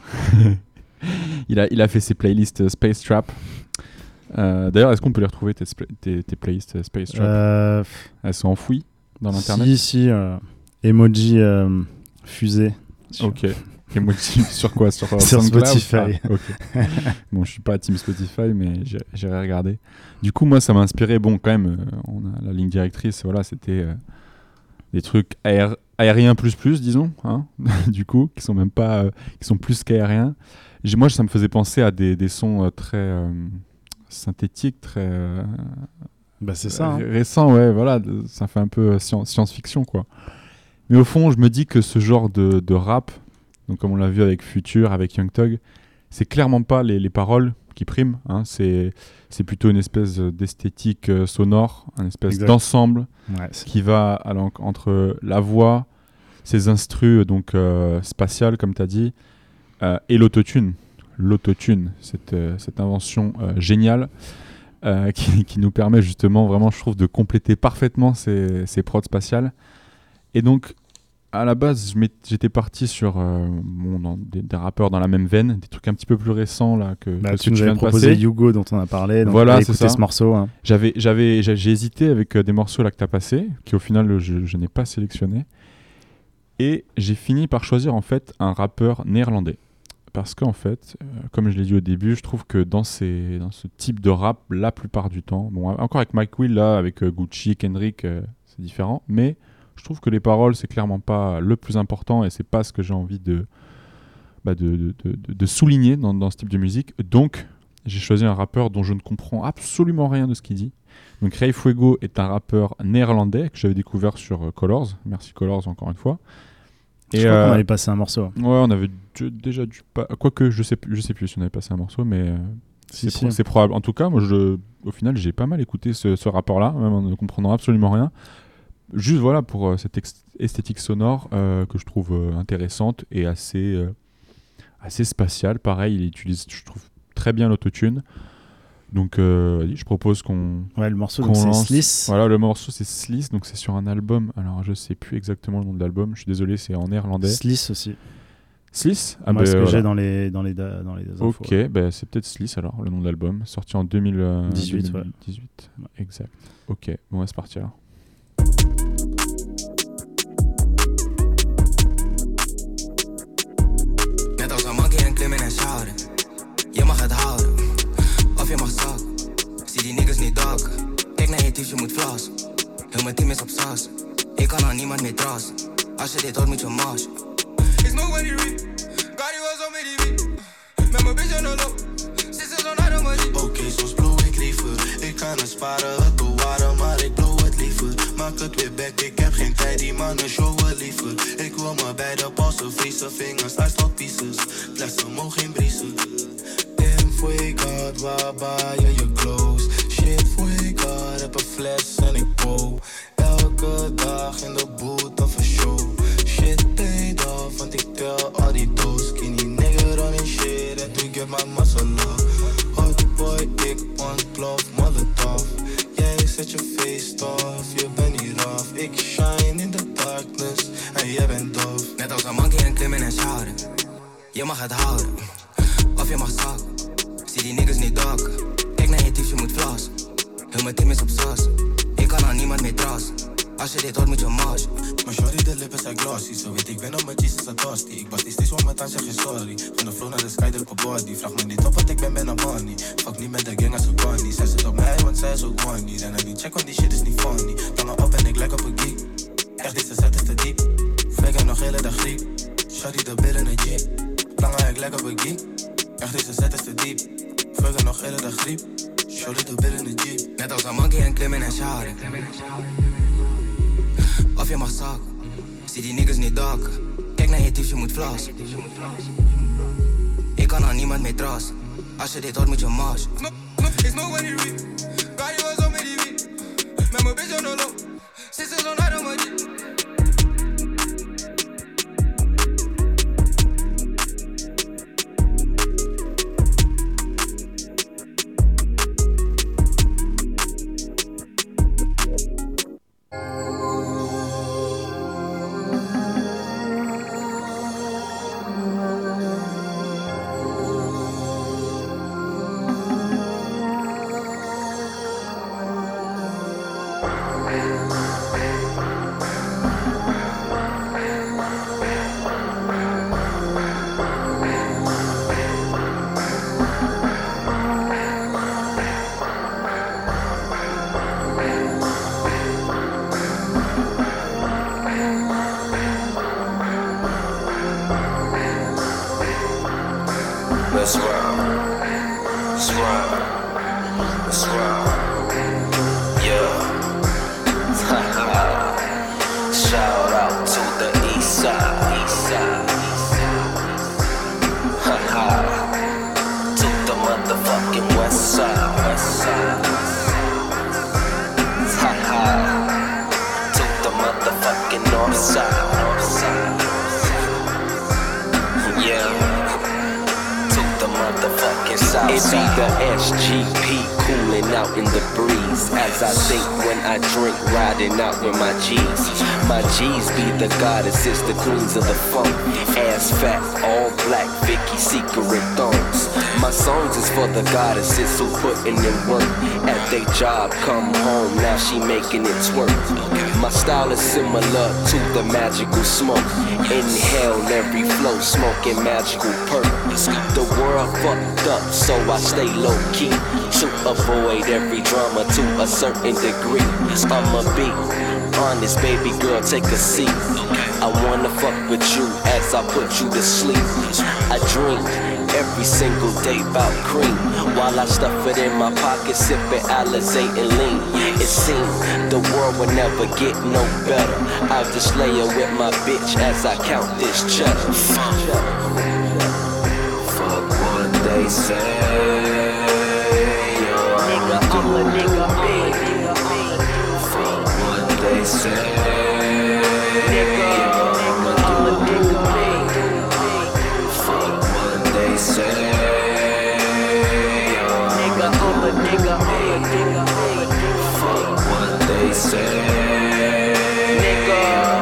il a fait ses playlists Space Trap. D'ailleurs, est-ce qu'on peut les retrouver, tes playlists Space Trap? Elles sont enfouies dans l'internet? Si, emoji fusée. Ok. Emoji sur quoi? Sur Spotify. Ah, okay. Bon, je suis pas team Spotify, mais j'irai regarder. Du coup, moi, ça m'a inspiré. Bon, quand même, on a la ligne directrice. Voilà, c'était des trucs aériens plus, disons. Hein du coup, qui sont même pas, qui sont plus qu'aériens. Moi, ça me faisait penser à des sons très synthétiques, très c'est ça, récents. Ouais, voilà, ça fait un peu science-fiction, quoi. Mais au fond, je me dis que ce genre de rap, donc comme on l'a vu avec Future, avec Young Thug, c'est clairement pas les paroles qui priment. Hein. C'est plutôt une espèce d'esthétique sonore, un espèce d'ensemble qui va entre la voix, ses instrus donc spatiales, comme tu as dit, et l'autotune. L'autotune, cette invention géniale qui nous permet justement, vraiment, je trouve, de compléter parfaitement ces prods spatiales. Et donc, à la base, j'étais parti sur des rappeurs dans la même veine, des trucs un petit peu plus récents là que tu nous avais proposé Hugo dont on a parlé, donc voilà, c'est ça. Ce morceau. Hein. J'ai hésité avec des morceaux là que tu as passé, qui au final je n'ai pas sélectionné, et j'ai fini par choisir en fait un rappeur néerlandais. Parce qu'en fait, comme je l'ai dit au début, je trouve que dans ce type de rap, la plupart du temps, bon, encore avec Mike Will, là, avec Gucci, Kendrick, c'est différent, mais je trouve que les paroles, c'est clairement pas le plus important et c'est pas ce que j'ai envie de souligner dans ce type de musique. Donc, j'ai choisi un rappeur dont je ne comprends absolument rien de ce qu'il dit. Donc, Ray Fuego est un rappeur néerlandais que j'avais découvert sur Colors. Merci Colors, encore une fois. Je crois qu'on avait passé un morceau. Ouais, on avait déjà dû pas. Quoique, je sais plus si on avait passé un morceau, mais c'est probable. En tout cas, moi, au final, j'ai pas mal écouté ce rappeur-là, même en ne comprenant absolument rien. Juste voilà pour cette esthétique sonore que je trouve intéressante et assez spatiale. Pareil, il utilise, je trouve, très bien l'autotune. Donc, je propose qu'on. Ouais, le morceau, c'est lance. Sliss. Voilà, le morceau, c'est Sliss. Donc, c'est sur un album. Alors, je sais plus exactement le nom de l'album. Je suis désolé, c'est en néerlandais. Sliss aussi. Sliss? Moi, ce que j'ai dans les infos. Ok, ouais. C'est peut-être Sliss alors, le nom de l'album. Sorti en 2018. Ouais. Exact. Ok, bon, c'est parti alors. Net als een monkey en klim in en shouten. Je mag het houden, of je mag zakken. Zie die niggas niet dakken. Kijk naar je tief, je moet vlassen. Heel mijn team is op sassen. Ik kan aan niemand meer trassen. Als je dit hoort, moet je marsen. Is nobody real. Cardi was al met die beat. Met mijn bitch aan de loop. Zit ze zo naar de magie. Oké, soms blow ik liever. Ik kan het sparen, het bewaren, maar ik blow het liever. Maak het weer back, ik heb geen tijd, die mannen showen liever. Ik wil me bij de passen, vriezen vingers, hij staat pieces. Flessen mogen geen briezen. Damn, for God, waar buy je clothes? Shit, for God, heb een fles en ik bow. Elke dag in de boot of een show. Shit paid off, want ik tel al die doos. Skinny nigga running shit and to get my muscle up. Hot boy, ik ontplof, molotov. Jij zet je face off, je bent niet af. Ik shine in the darkness en jij bent doof. Net als een monkey en klimmen en sjouwen. Je mag het houden, of je mag zakken. Zie die niggas niet dokken. Kijk naar je tief, je moet flossen. Heel mijn team is op sas. Ik kan aan niemand meer trassen. Als je dit hoort moet je marchen. Maar shorty, de lippen zijn glossy. Zo weet ik ben op mijn Jesus Agosti. Ik was die steeds om met aan, zeg je sorry. Van de flow naar de sky, druk op body. Vraag me niet op wat ik ben een money. Fuck niet met de gang als een connie. Zij zit op mij, want zij is ook money. Rennen niet check, want die shit is niet funny. Tangen op en ik lijk op een geek. Echt, deze set is te diep. Flikker nog hele dag griep. Shorty, de billen een jeep. Lange, ik lijk op een geek. Echt, deze set is te diep. Flikker nog hele dag griep. Shorty, de billen een jeep. Net als een monkey en klimmen en sjouwen. Of je mag zakken. Zie die niggas niet dokken. Kijk naar je tief, je moet flossen. Ik kan aan niemand meer trassen. Als je dit hoort moet je marchen. It's no way to read. Got you was on me TV. Met mijn bitch on the low. Sisters on night on my G. Let's ride. Let's ride. Let's ride. Yeah. Shout out to the east side. East side. To the motherfucking west side. West side. To the motherfucking north side. North side. Yeah. Motherfucking south. It be the SGP cooling out in the breeze. As I think when I drink, riding out with my G's. My G's be the goddesses, the queens of the funk. Ass fat, all black, Vicky secret thongs. My songs is for the goddesses who putting in work. At they job, come home, now she making it twerk. My style is similar to the magical smoke. Inhale every flow, smoking magical perk. The world fucked up, so I stay low key to avoid every drama to a certain degree. I'ma be honest, baby girl, take a seat. I wanna fuck with you as I put you to sleep. I drink every single day about cream while I stuff it in my pocket, sipping Alizé and lean. It seems the world will never get no better. I'll just lay her with my bitch as I count this cheddar. Fuck what they say. Nigga, I'm a nigga, fuck what they say. Nigga, I'm a nigga, fuck what they say. Nigga, I'm a nigga, fuck what they say. Nigga,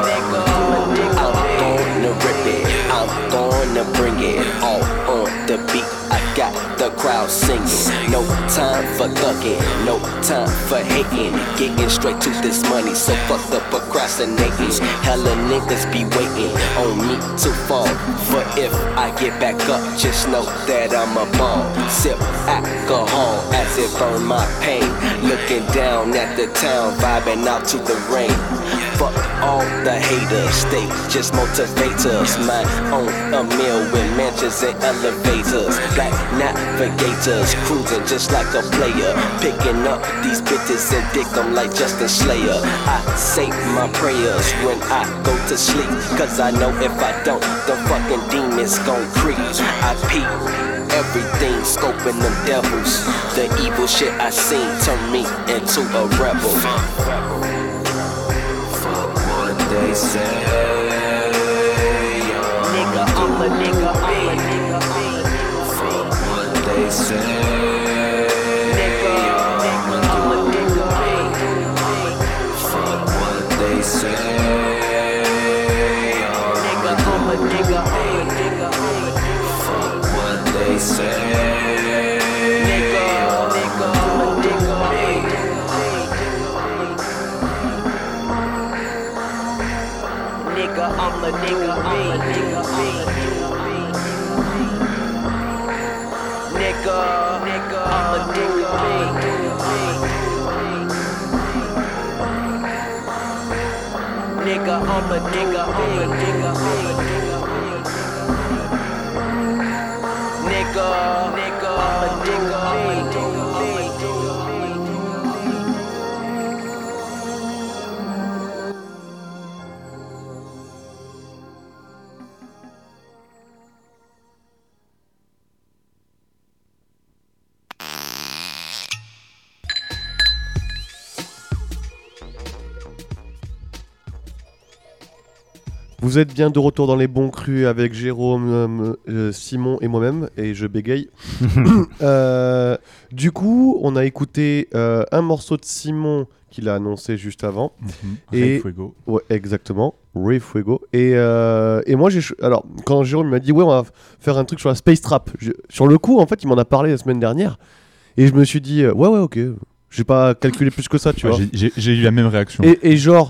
I'm gonna rip it, I'm gonna bring it all on the beat. I got the crowd singing. No time for thugging, no time for hating. Getting straight to this money, so fuck the procrastinating. Hella niggas be waiting on me to fall. But if I get back up, just know that I'm a ball. Sip alcohol as it burn my pain. Looking down at the town, vibing out to the rain. Fuck all the haters, they just motivators. My own a meal with mansions and elevators. Black navigators, cruising just like a player. Picking up these bitches and dick them like Justin Slayer. I say my prayers when I go to sleep, cause I know if I don't, the fucking demons gon' creep. I peep everything, scoping them devils. The evil shit I seen turn me into a rebel. Fuck what they say. Nigga, Vous êtes bien de retour dans les bons crus avec Jérôme, Simon et moi-même, et je bégaye. Du coup, on a écouté un morceau de Simon qu'il a annoncé juste avant. Rey Fuego. Ouais, exactement, Rey Fuego. Et moi, alors, quand Jérôme m'a dit, ouais, on va faire un truc sur la Space Trap, sur le coup, en fait, il m'en a parlé la semaine dernière, et je me suis dit, ouais, ok, j'ai pas calculé plus que ça, tu vois. J'ai eu la même réaction. Et genre...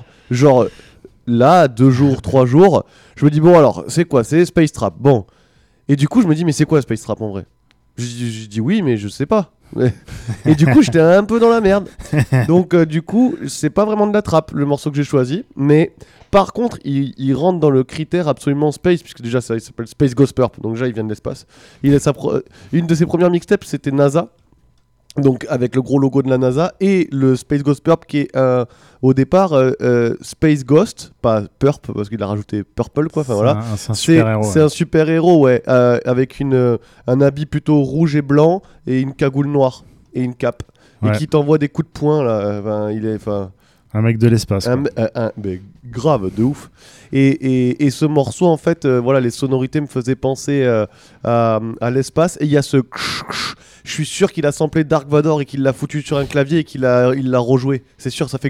Là, 2 jours, 3 jours, je me dis, bon, alors, c'est quoi? C'est Space Trap. Bon. Et du coup, je me dis, mais c'est quoi Space Trap en vrai? Je dis oui, mais je sais pas. Et du coup, j'étais un peu dans la merde. Donc, du coup, c'est pas vraiment de la trappe, le morceau que j'ai choisi. Mais par contre, il rentre dans le critère absolument space, puisque déjà, ça, il s'appelle Space Ghost Purp. Donc, déjà, il vient de l'espace. Une de ses premières mixtapes, c'était NASA. Donc avec le gros logo de la NASA et le Space Ghost Purp qui est au départ Space Ghost, pas Purp parce qu'il a rajouté Purple quoi. Enfin voilà. C'est un super héros. C'est un super héros ouais, avec un habit plutôt rouge et blanc et une cagoule noire et une cape et qui t'envoie des coups de poing là. Il est un mec de l'espace. Mais grave, de ouf. Et ce morceau, en fait, voilà, les sonorités me faisaient penser à l'espace. Et il y a ce... Je suis sûr qu'il a samplé Dark Vador et qu'il l'a foutu sur un clavier et qu'il l'a rejoué. C'est sûr, ça fait...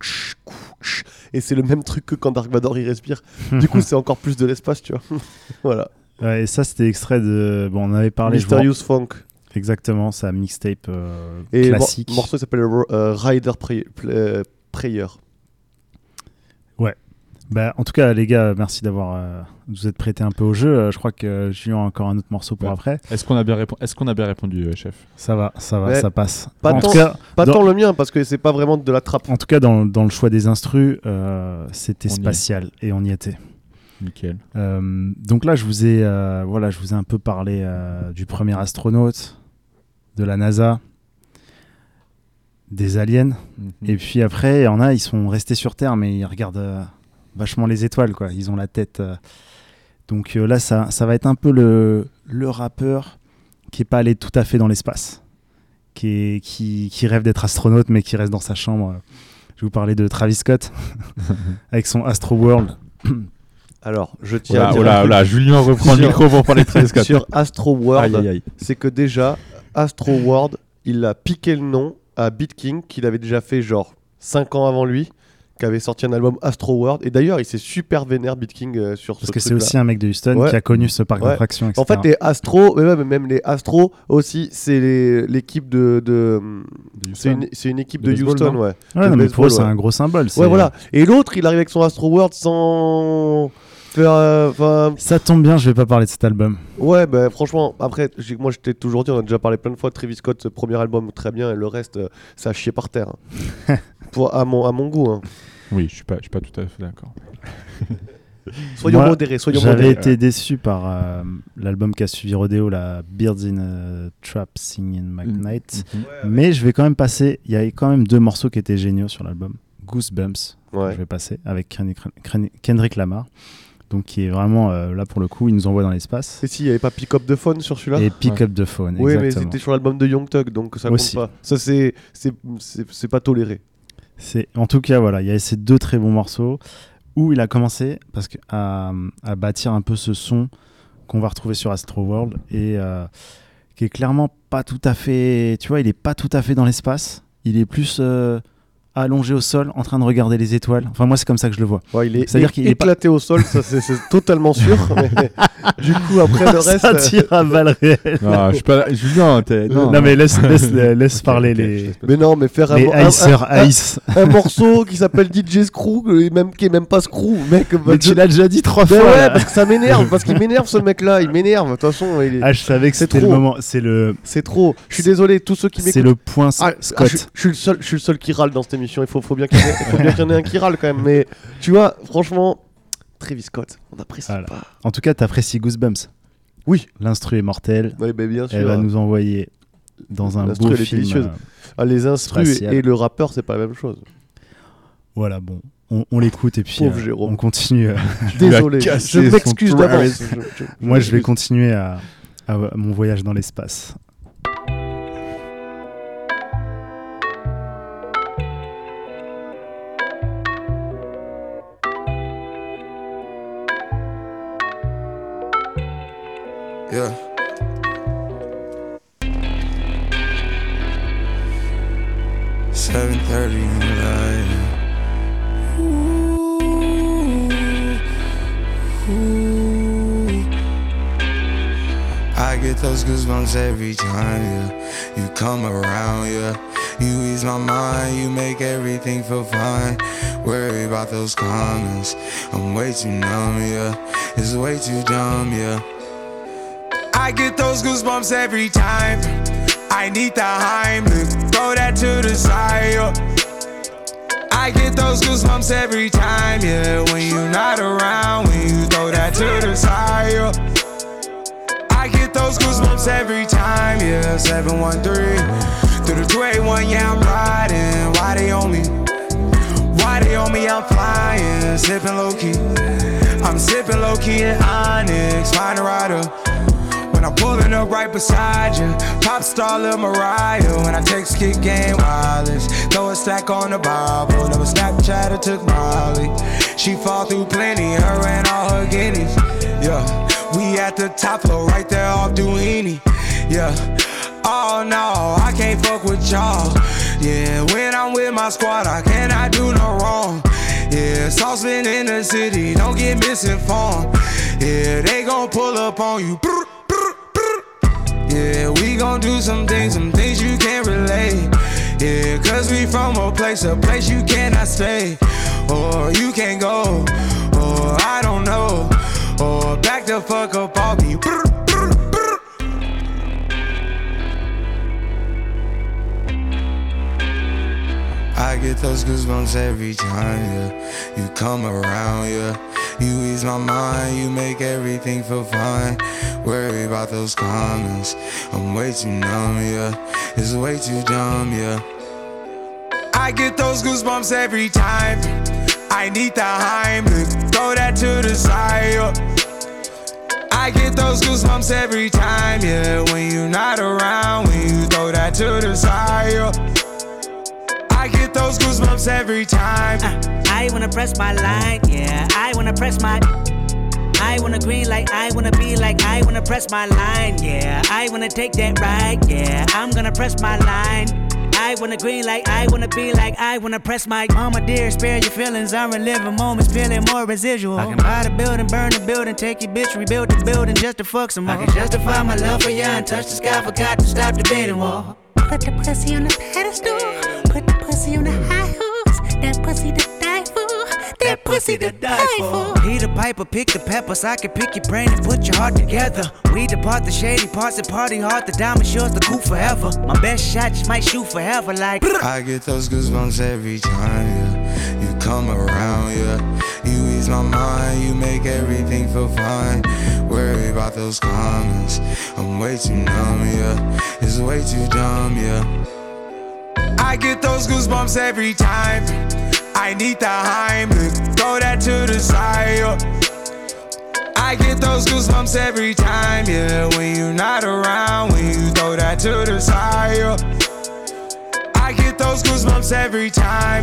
Et c'est le même truc que quand Dark Vador, il respire. Du coup, c'est encore plus de l'espace, tu vois. Voilà. Ouais, et ça, c'était extrait de... Bon, on avait parlé... Mysterious Funk. Exactement, ça mixtape classique. Le morceau s'appelle Rider Prayer. Ouais. Bah, en tout cas, les gars, merci d'avoir vous êtes prêtés un peu au jeu. Je crois que Julien a encore un autre morceau pour après. Est-ce qu'on a bien répondu, chef? Ça va, ça passe. Pas tant le mien, parce que c'est pas vraiment de la trappe. En tout cas, dans le choix des instrus, c'était spatial et on y était. Nickel. Donc là, je vous ai un peu parlé du premier astronaute, de la NASA, des aliens. Et puis après, il y en a, ils sont restés sur Terre, mais ils regardent vachement les étoiles, quoi. Ils ont la tête. Donc là, ça va être un peu le rappeur qui est pas allé tout à fait dans l'espace, qui rêve d'être astronaute, mais qui reste dans sa chambre. Je vais vous parler de Travis Scott avec son Astro World. Alors, je tiens à dire Julien reprend le micro pour parler de Travis Scott. Sur Astro World, c'est que déjà, Astro World, il a piqué le nom à Beat King, qu'il avait déjà fait genre 5 ans avant lui, qui avait sorti un album Astro World. Et d'ailleurs, il s'est super vénère Beat King sur ce truc-là. Parce que c'est aussi un mec de Houston qui a connu ce parc d'attractions, etc. En fait, les Astros, même les Astros aussi, c'est l'équipe de c'est une équipe de Houston, ouais. Ouais, non, mais pour eux, c'est un gros symbole. Ouais, voilà. Et l'autre, il arrive avec son Astro World sans... Ça tombe bien, je vais pas parler de cet album. Ouais, bah franchement, après, moi je t'ai toujours dit, on a déjà parlé plein de fois de Travis Scott, ce premier album très bien, et le reste, ça a chié par terre. Hein. à mon goût. Hein. Oui, je suis pas tout à fait d'accord. Soyons modérés. J'avais été déçu par l'album qui a suivi Rodeo, la Birds in a Trap Singing McKnight. Mais je vais quand même passer, il y a quand même 2 morceaux qui étaient géniaux sur l'album. Goosebumps, je vais passer, avec Kendrick Lamar. Donc qui est vraiment là pour le coup, il nous envoie dans l'espace. Et si, il n'y avait pas Pick Up the Phone sur celui-là? Et Pick Up the Phone, oui, exactement. mais c'était sur l'album de Young Thug, donc ça compte pas. Ça c'est pas toléré. En tout cas, voilà, il y a ces 2 très bons morceaux où il a commencé à bâtir un peu ce son qu'on va retrouver sur Astro World et qui est clairement pas tout à fait, tu vois, il est pas tout à fait dans l'espace. Il est plus allongé au sol en train de regarder les étoiles. Enfin, moi, c'est comme ça que je le vois. Ouais, il est C'est-à-dire qu'il est éclaté au sol, ça c'est totalement sûr. Mais du coup, après le reste. Ça tire à balles réelles. Non, je suis pas. Julien, non, mais laisse parler les. Mais non, mais faire les un morceau qui s'appelle DJ Screw, qui est même pas Screw, mec. Mais tu l'as déjà dit 3 fois. Ouais, là. parce que ça m'énerve, parce qu'il m'énerve ce mec-là, il m'énerve. De toute façon, je savais que c'était le moment. C'est trop. Je suis désolé, tous ceux qui m'écoutent. C'est le point Scott. Je suis le seul qui râle dans cette émission. Il faut bien qu'il y en ait un qui râle quand même. Mais tu vois, franchement, Travis Scott, on apprécie pas. En tout cas, t'apprécies Goosebumps. Oui. L'instru est mortel. Oui, bah bien sûr. Elle va nous envoyer dans un beau film. Les instrus et le rappeur, c'est pas la même chose. Voilà, bon. On l'écoute et puis on continue. Désolé, je m'excuse d'avance. Moi, je vais continuer à mon voyage dans l'espace. Yeah. $7:30 in the light. I get those goosebumps every time, yeah. You come around, yeah. You ease my mind, you make everything feel fine. Worry about those comments, I'm way too numb, yeah. It's way too dumb, yeah. I get those goosebumps every time. I need the Heimlich, throw that to the side, yeah. I get those goosebumps every time, yeah. When you're not around, when you throw that to the side, yeah. I get those goosebumps every time, yeah. 713 through the 281, yeah, I'm riding. Why they on me? Why they on me? I'm flying, sipping low key. I'm sipping low key in Onyx, find a rider. When I'm pulling up right beside you, pop star Lil Mariah. When I text kick game wireless, throw a stack on the Bible. Never Snapchat or took Molly. She fall through plenty, her and all her guineas. Yeah, we at the top floor, right there off Duini. Yeah, oh no, I can't fuck with y'all. Yeah, when I'm with my squad, I cannot do no wrong. Yeah, saucepan in the city, don't get misinformed. Yeah, they gon' pull up on you. Yeah, we gon' do some things you can't relate. Yeah, cause we from a place you cannot stay. Or you can't go, or I don't know. Or back the fuck up all me. I get those goosebumps every time, yeah. You come around, yeah. You ease my mind, you make everything feel fine. Worry about those comments, I'm way too numb, yeah. It's way too dumb, yeah. I get those goosebumps every time. I need the Heimlich, throw that to the side, yeah. I get those goosebumps every time, yeah. When you're not around, when you throw that to the side, yeah. I get those goosebumps every time. I wanna press my line, yeah. I wanna press my. I wanna green like I wanna be like I wanna press my line, yeah. I wanna take that ride, yeah. I'm gonna press my line. I wanna green like I wanna be like I wanna press my. Mama dear, spare your feelings. I'm reliving moments, feeling more residual. I can buy the building, burn the building, take your bitch, rebuild the building just to fuck some more. I can justify my love for you and touch the sky, forgot to stop the bidding war. Put the pussy on the pedestal, put the pussy on the high horse. That pussy to die for, that pussy to die for. He the piper, pick the peppers. I can pick your brain and put your heart together. We depart the shady parts and party hard. The diamond yours the cool forever. My best shot just might shoot forever like. I get those goosebumps every time, yeah. You come around, yeah. You ease my mind, you make everything feel fine. Worry about those comments, I'm way too numb, yeah. It's way too dumb, yeah. I get those goosebumps every time. I need the Heimlich, throw that to the side, yeah. I get those goosebumps every time, yeah. When you're not around, when you throw that to the side, yeah. I get those goosebumps every time.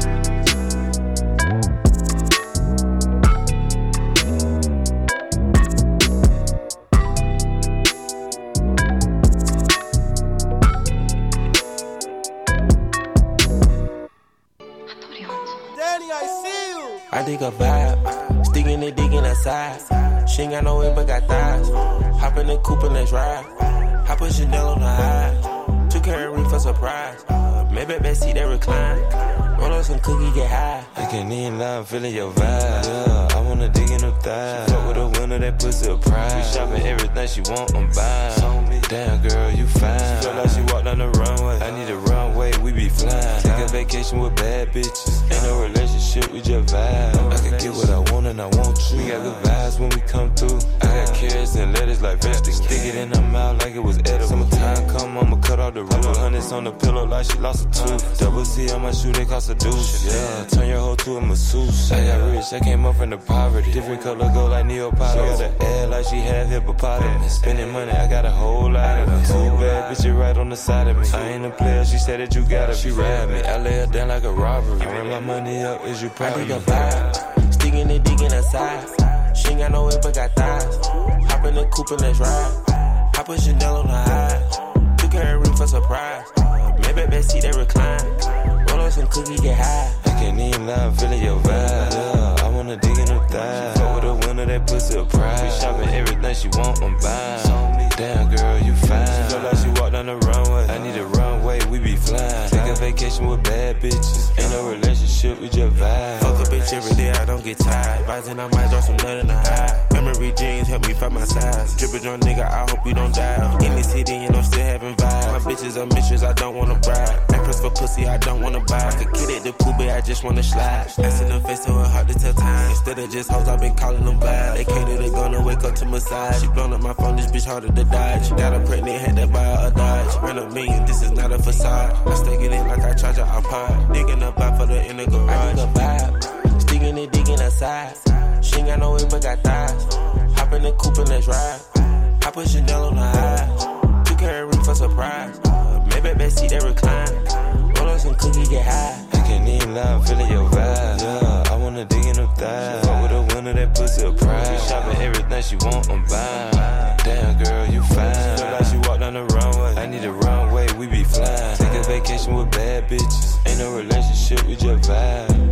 dig a vibe. Sticking it, digging aside. She ain't got no way but got thighs. Hop in the coupe and let's ride. Hop a Chanel on the high. Took her a ring for surprise. Maybe backseat that recline. Roll up some cookie, get high. I can't even lie, I'm feeling your vibe. Yeah, I wanna dig in her thighs. She fuck with a winner, that pussy a prize. We shopping everything she want, I'm buying. Damn girl, you fine. She feel like she walked down the runway. I need a runway, we be flying. Take a vacation with bad bitches. Ain't no relationship, we just vibe. I can get what I want and I want you. We got good vibes when we come through. I got carrots and lettuce like vegetables. Stick it in her mouth like it was edible. Summertime come, I'ma cut off the roof. I put hundreds on the pillow like she lost a tooth. Double C on my shoe, they cost a deuce. Yeah, turn your hoe to a masseuse. I got rich, I came up from the poverty. Different color gold like Neapolitan. Got the air like she had hippopotamus. Spending money, I got a whole lot of it. Too bad, bitch, you right on the side of me. I ain't a player, she said that you gotta. She ride me, I lay her down like a robbery. I run my money up, is you proud? I dig a vibe, sticking it, digging aside. She ain't got no way but got thighs. Hop in the coupe and let's ride. Hop a Chanel on the high. Took her a ring for surprise. Maybe backseat that recline. Roll up some cookie, get high. I can't even lie, I'm feeling your vibe. Yeah, I wanna dig in her thighs. She fuck with a winner, that pussy a prize. We shopping everything she want, I'm buying. Damn girl, you fine. She feel like she walked down the runway. I need a runway, we be flying. Take a vacation with bad bitches. Ain't no relationship, we just vibe. Fuck a bitch every day, I don't get tired. Rising, I might drop some nut in the high. Memory jeans help me find my size. Drippin' drunk nigga, I hope you don't die. In the city and I'm still having vibes. My bitches are mistress, I don't wanna bride. Actress for pussy, I don't wanna buy. Could kid it, the poopy, I just wanna slide. Ass in the face, so it's hard to tell time. Instead of just hoes, I've been calling them vibe. They cater, they gonna wake up to massage. She blown up my phone, this bitch harder to dodge. Got her pregnant, had to buy her a Dodge. Run a million, this is not a facade. I stick it in like I charge her iPod. Digging up out for the inner garage. I dig a vibe, sticking it, digging aside. She ain't got no way but got thighs. Hop in the coupe and let's ride. Hop a Chanel on the high. Took her a ring for surprise. Maybe backseat that recline. Roll up some cookie, get high. I can't even lie, I'm feeling your vibe. Yeah, I wanna dig in her thighs. Fuck with a winner, that pussy a prize. We shopping everything she want, I'm buying. Damn girl, you fine. She feel like she walked down the runway. I need a runway, we be flying. Take a vacation with bad bitches. Ain't no relationship, we just vibe.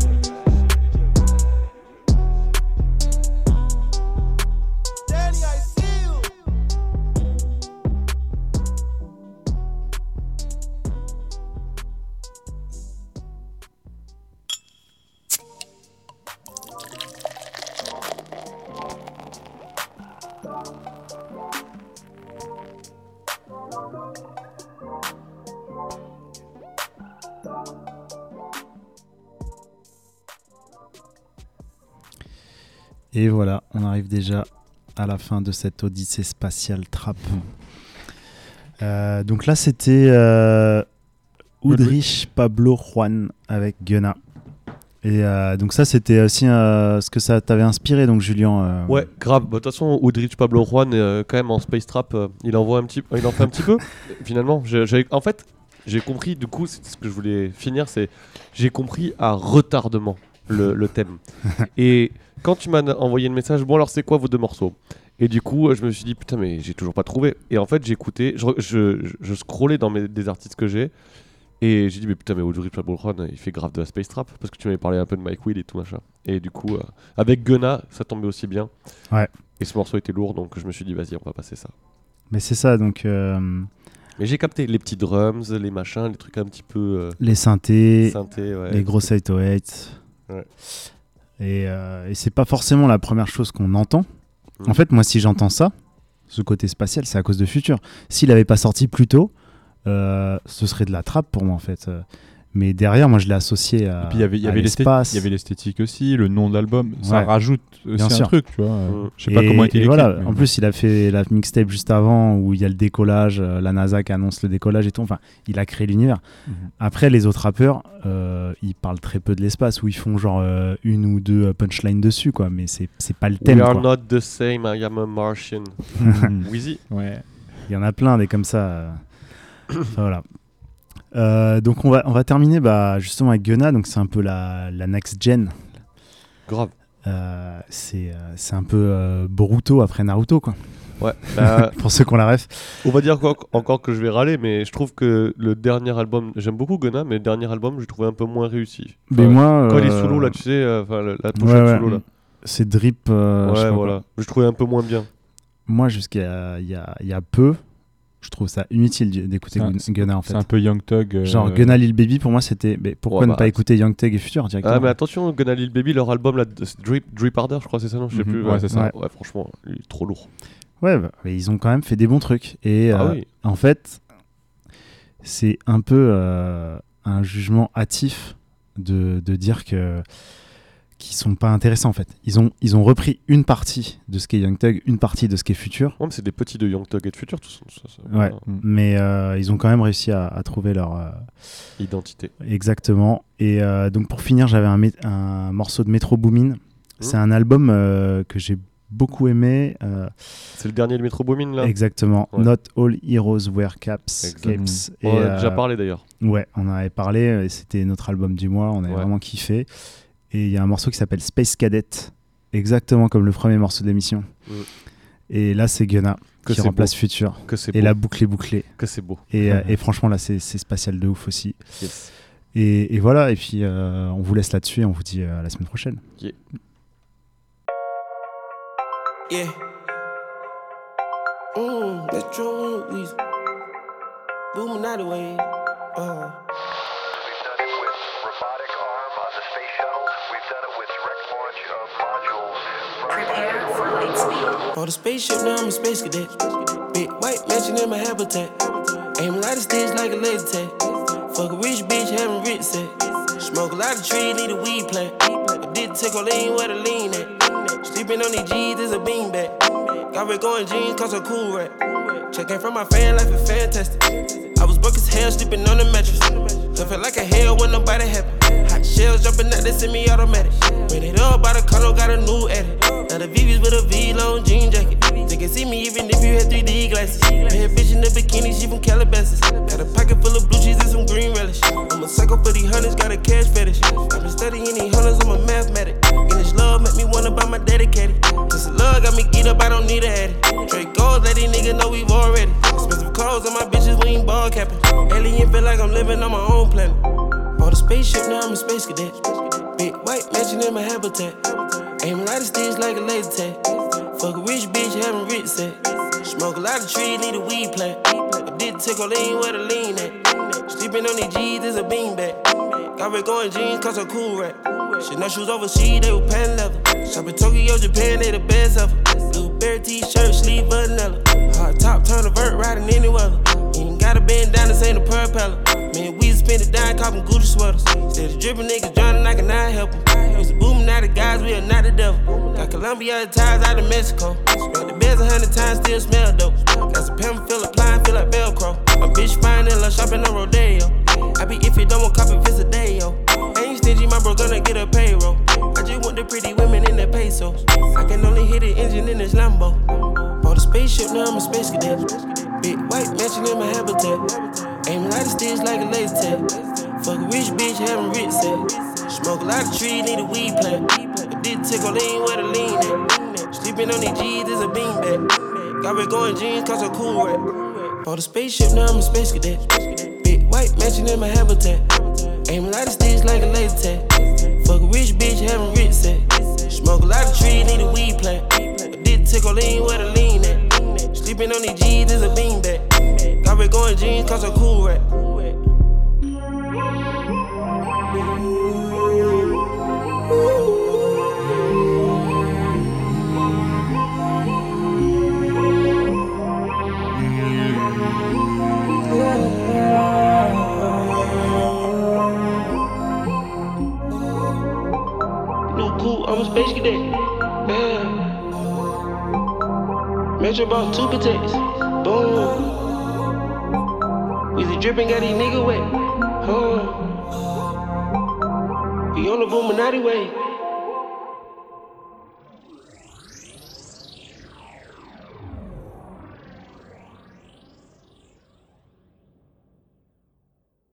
Et voilà, on arrive déjà à la fin de cette odyssée spatiale trap. Donc là, c'était Udrich Pablo Juan avec Gunna. Et donc ça, c'était aussi ce que ça t'avait inspiré, donc Julien. Ouais, grave. De toute façon, Udrich Pablo Juan, quand même en space trap, il en fait un petit peu. Finalement, en fait, j'ai compris. Du coup, c'est ce que je voulais finir, c'est j'ai compris à retardement le thème. Et quand tu m'as envoyé le message, bon alors c'est quoi vos deux morceaux? Et du coup, je me suis dit putain mais j'ai toujours pas trouvé. Et en fait, j'écoutais, je scrollais dans des artistes que j'ai. Et j'ai dit, mais putain, mais Udrich Pablo Juan, il fait grave de la space trap. Parce que tu m'avais parlé un peu de Mike Will et tout machin. Et du coup, avec Gunna, ça tombait aussi bien. Ouais. Et ce morceau était lourd, donc je me suis dit, vas-y, on va passer ça. Mais c'est ça, donc. Mais j'ai capté les petits drums, les machins, les trucs un petit peu. Les synthés, ouais. les grosses 808. Ouais. Et c'est pas forcément la première chose qu'on entend. En fait, moi, si j'entends ça, ce côté spatial, c'est à cause de Future. S'il avait pas sorti plus tôt, ce serait de la trappe pour moi en fait. Mais derrière, moi je l'ai associé à, il y avait l'espace. Il y avait l'esthétique aussi, le nom de l'album, ça ouais. Rajoute aussi bien un sûr. truc, tu vois. Je sais pas comment était l'équipe. Voilà. Mais... En plus, il a fait la mixtape juste avant où il y a le décollage, la NASA qui annonce le décollage et tout. Enfin, il a créé l'univers. Après, les autres rappeurs, ils parlent très peu de l'espace, où ils font genre une ou deux punchlines dessus, quoi. Mais c'est pas le thème. We are quoi. not the same, I am a Martian. Wheezy. Ouais. Il y en a plein des comme ça. Enfin, voilà. Donc on va terminer justement avec Gunna, donc c'est un peu la next gen. Grave. c'est un peu Boruto après Naruto, quoi. Ouais. Pour ceux qui ont la ref. On va dire quoi, encore que je vais râler, mais je trouve que le dernier album, j'aime beaucoup Gunna, mais le dernier album, je l'ai trouvé un peu moins réussi. Mais moi, quand il est sous l'eau, là, tu sais, la pochette sous l'eau, là. C'est drip. Ouais, voilà. Je trouvais un peu moins bien. Moi, jusqu'à il y a peu, je trouve ça inutile d'écouter Gunna, en fait. C'est un peu Young Thug. Genre Gunna Lil Baby, pour moi, c'était. Mais pourquoi ne pas écouter Young Thug et Future directement? Ah, mais attention, Gunna Lil Baby, leur album, là, Drip Harder, je crois, c'est ça, non? Je sais plus. Ouais, c'est ça. Ouais, franchement, il est trop lourd. Ouais, mais ils ont quand même fait des bons trucs. Et oui. en fait, c'est un peu un jugement hâtif de dire qu'ils sont pas intéressants, en fait. Ils ont repris une partie de ce qu'est Young Thug, une partie de ce qu'est Future. Ouais, mais c'est des petits de Young Thug et de Future, tout ça. Ouais, mais ils ont quand même réussi à trouver leur identité. Exactement. Et donc pour finir, j'avais un morceau de Metro Boomin. C'est un album que j'ai beaucoup aimé. C'est le dernier de Metro Boomin, là. Exactement. Ouais. Not All Heroes Wear Capes. On en a déjà parlé d'ailleurs. Ouais, on en avait parlé. Et c'était notre album du mois. On avait vraiment kiffé. Et il y a un morceau qui s'appelle Space Cadet, exactement comme le premier morceau de l'émission. Et là, c'est Gunna qui remplace beau. Future. Que et la boucle est bouclée. Que c'est beau. Et franchement, là, c'est spatial de ouf aussi. Yes. Et voilà. Et puis, on vous laisse là-dessus et on vous dit à la semaine prochaine. Yeah. Yeah. Metro Weezy. Boom, not away. For the spaceship, now I'm a space cadet. Big white mansion in my habitat. Aim a lot of sticks like a laser tag. Fuck a rich bitch, having rich set. Smoke a lot of trees, need a weed plant. I did take a lean where the lean at. Sleeping on these G's is a beanbag. Got red going jeans, cause a cool rat. Checking from my fan life is fantastic. I was broke as hell, sleeping on the mattress. I felt like a hell when nobody happy. Hot shells jumping out, they semi-automatic. Ran it up by the condo, got a new edit. Now the VV's with a V-long jean jacket. They can see me even if you had 3D glasses. Bad bitch in the bikini, she from Calabasas. Got a pocket full of blue cheese and some green relish. I'm a psycho for these hunters, got a cash fetish. I've been studying these hunters, I'm a mathematic. And this love make me wanna buy my dedicated. Cause the love got me geeked up, I don't need a addy. Trade goals, let these niggas know we've already. Expensive clothes on my bitches, we ain't ball capping. Alien feel like I'm living on my own planet. Bought a spaceship, now I'm a space cadet. Big white mansion in my habitat. Aim a lot of sticks like a laser tag. Fuck a rich bitch, having rich set. Smoke a lot of trees, need a weed plant. I did take a lean where the lean at. Sleeping on these G's is a beanbag. Got red going jeans, cause a cool rat. Shit, no shoes overseas, they were pan leather. Shop in Tokyo, Japan, they the best ever. Blueberry t-shirt, sleeve vanilla. Hard top, turn a vert, riding any weather. You ain't got a band down, this ain't a propeller. Man, we spend it down, copping Gucci sweaters. Instead of dripping niggas drowning, I cannot help them. Used to booming out the guys, we are not the devil. Got Colombia ties out of Mexico. Smell the beds 100 times, still smell dope. Got some pimp, feel applying, feel like Velcro. My bitch fine and love shopping on Rodeo. I be if you don't want copy, it's a day, yo. Ain't stingy, my bro gonna get a payroll. I just want the pretty women in the pesos. I can only hit the engine in this Lambo. Bought a spaceship, now I'm a space cadet. Big white mansion in my habitat. Aim a lot of sticks like a laser tag. Fuck a rich bitch, having rich set. Smoke a lot of trees, need a weed plant. I did take a lean where the lean at. Sleeping on these G's is a beanbag. Got red going jeans, cause a cool rat. Bought a spaceship, now I'm a space cadet. Big white mansion in my habitat. Aim a lot of sticks like a laser tag. Fuck a rich bitch, having rich set. Smoke a lot of trees, need a weed plant. I did take a lean where the lean at. Sleeping on these G's is a beanbag. Got red going jeans, cause a cool rat. I'm a space cadet. Yeah. Metro bought 2 protects. Boom. Weezy dripping, got these niggas wet. We on the Boominati way.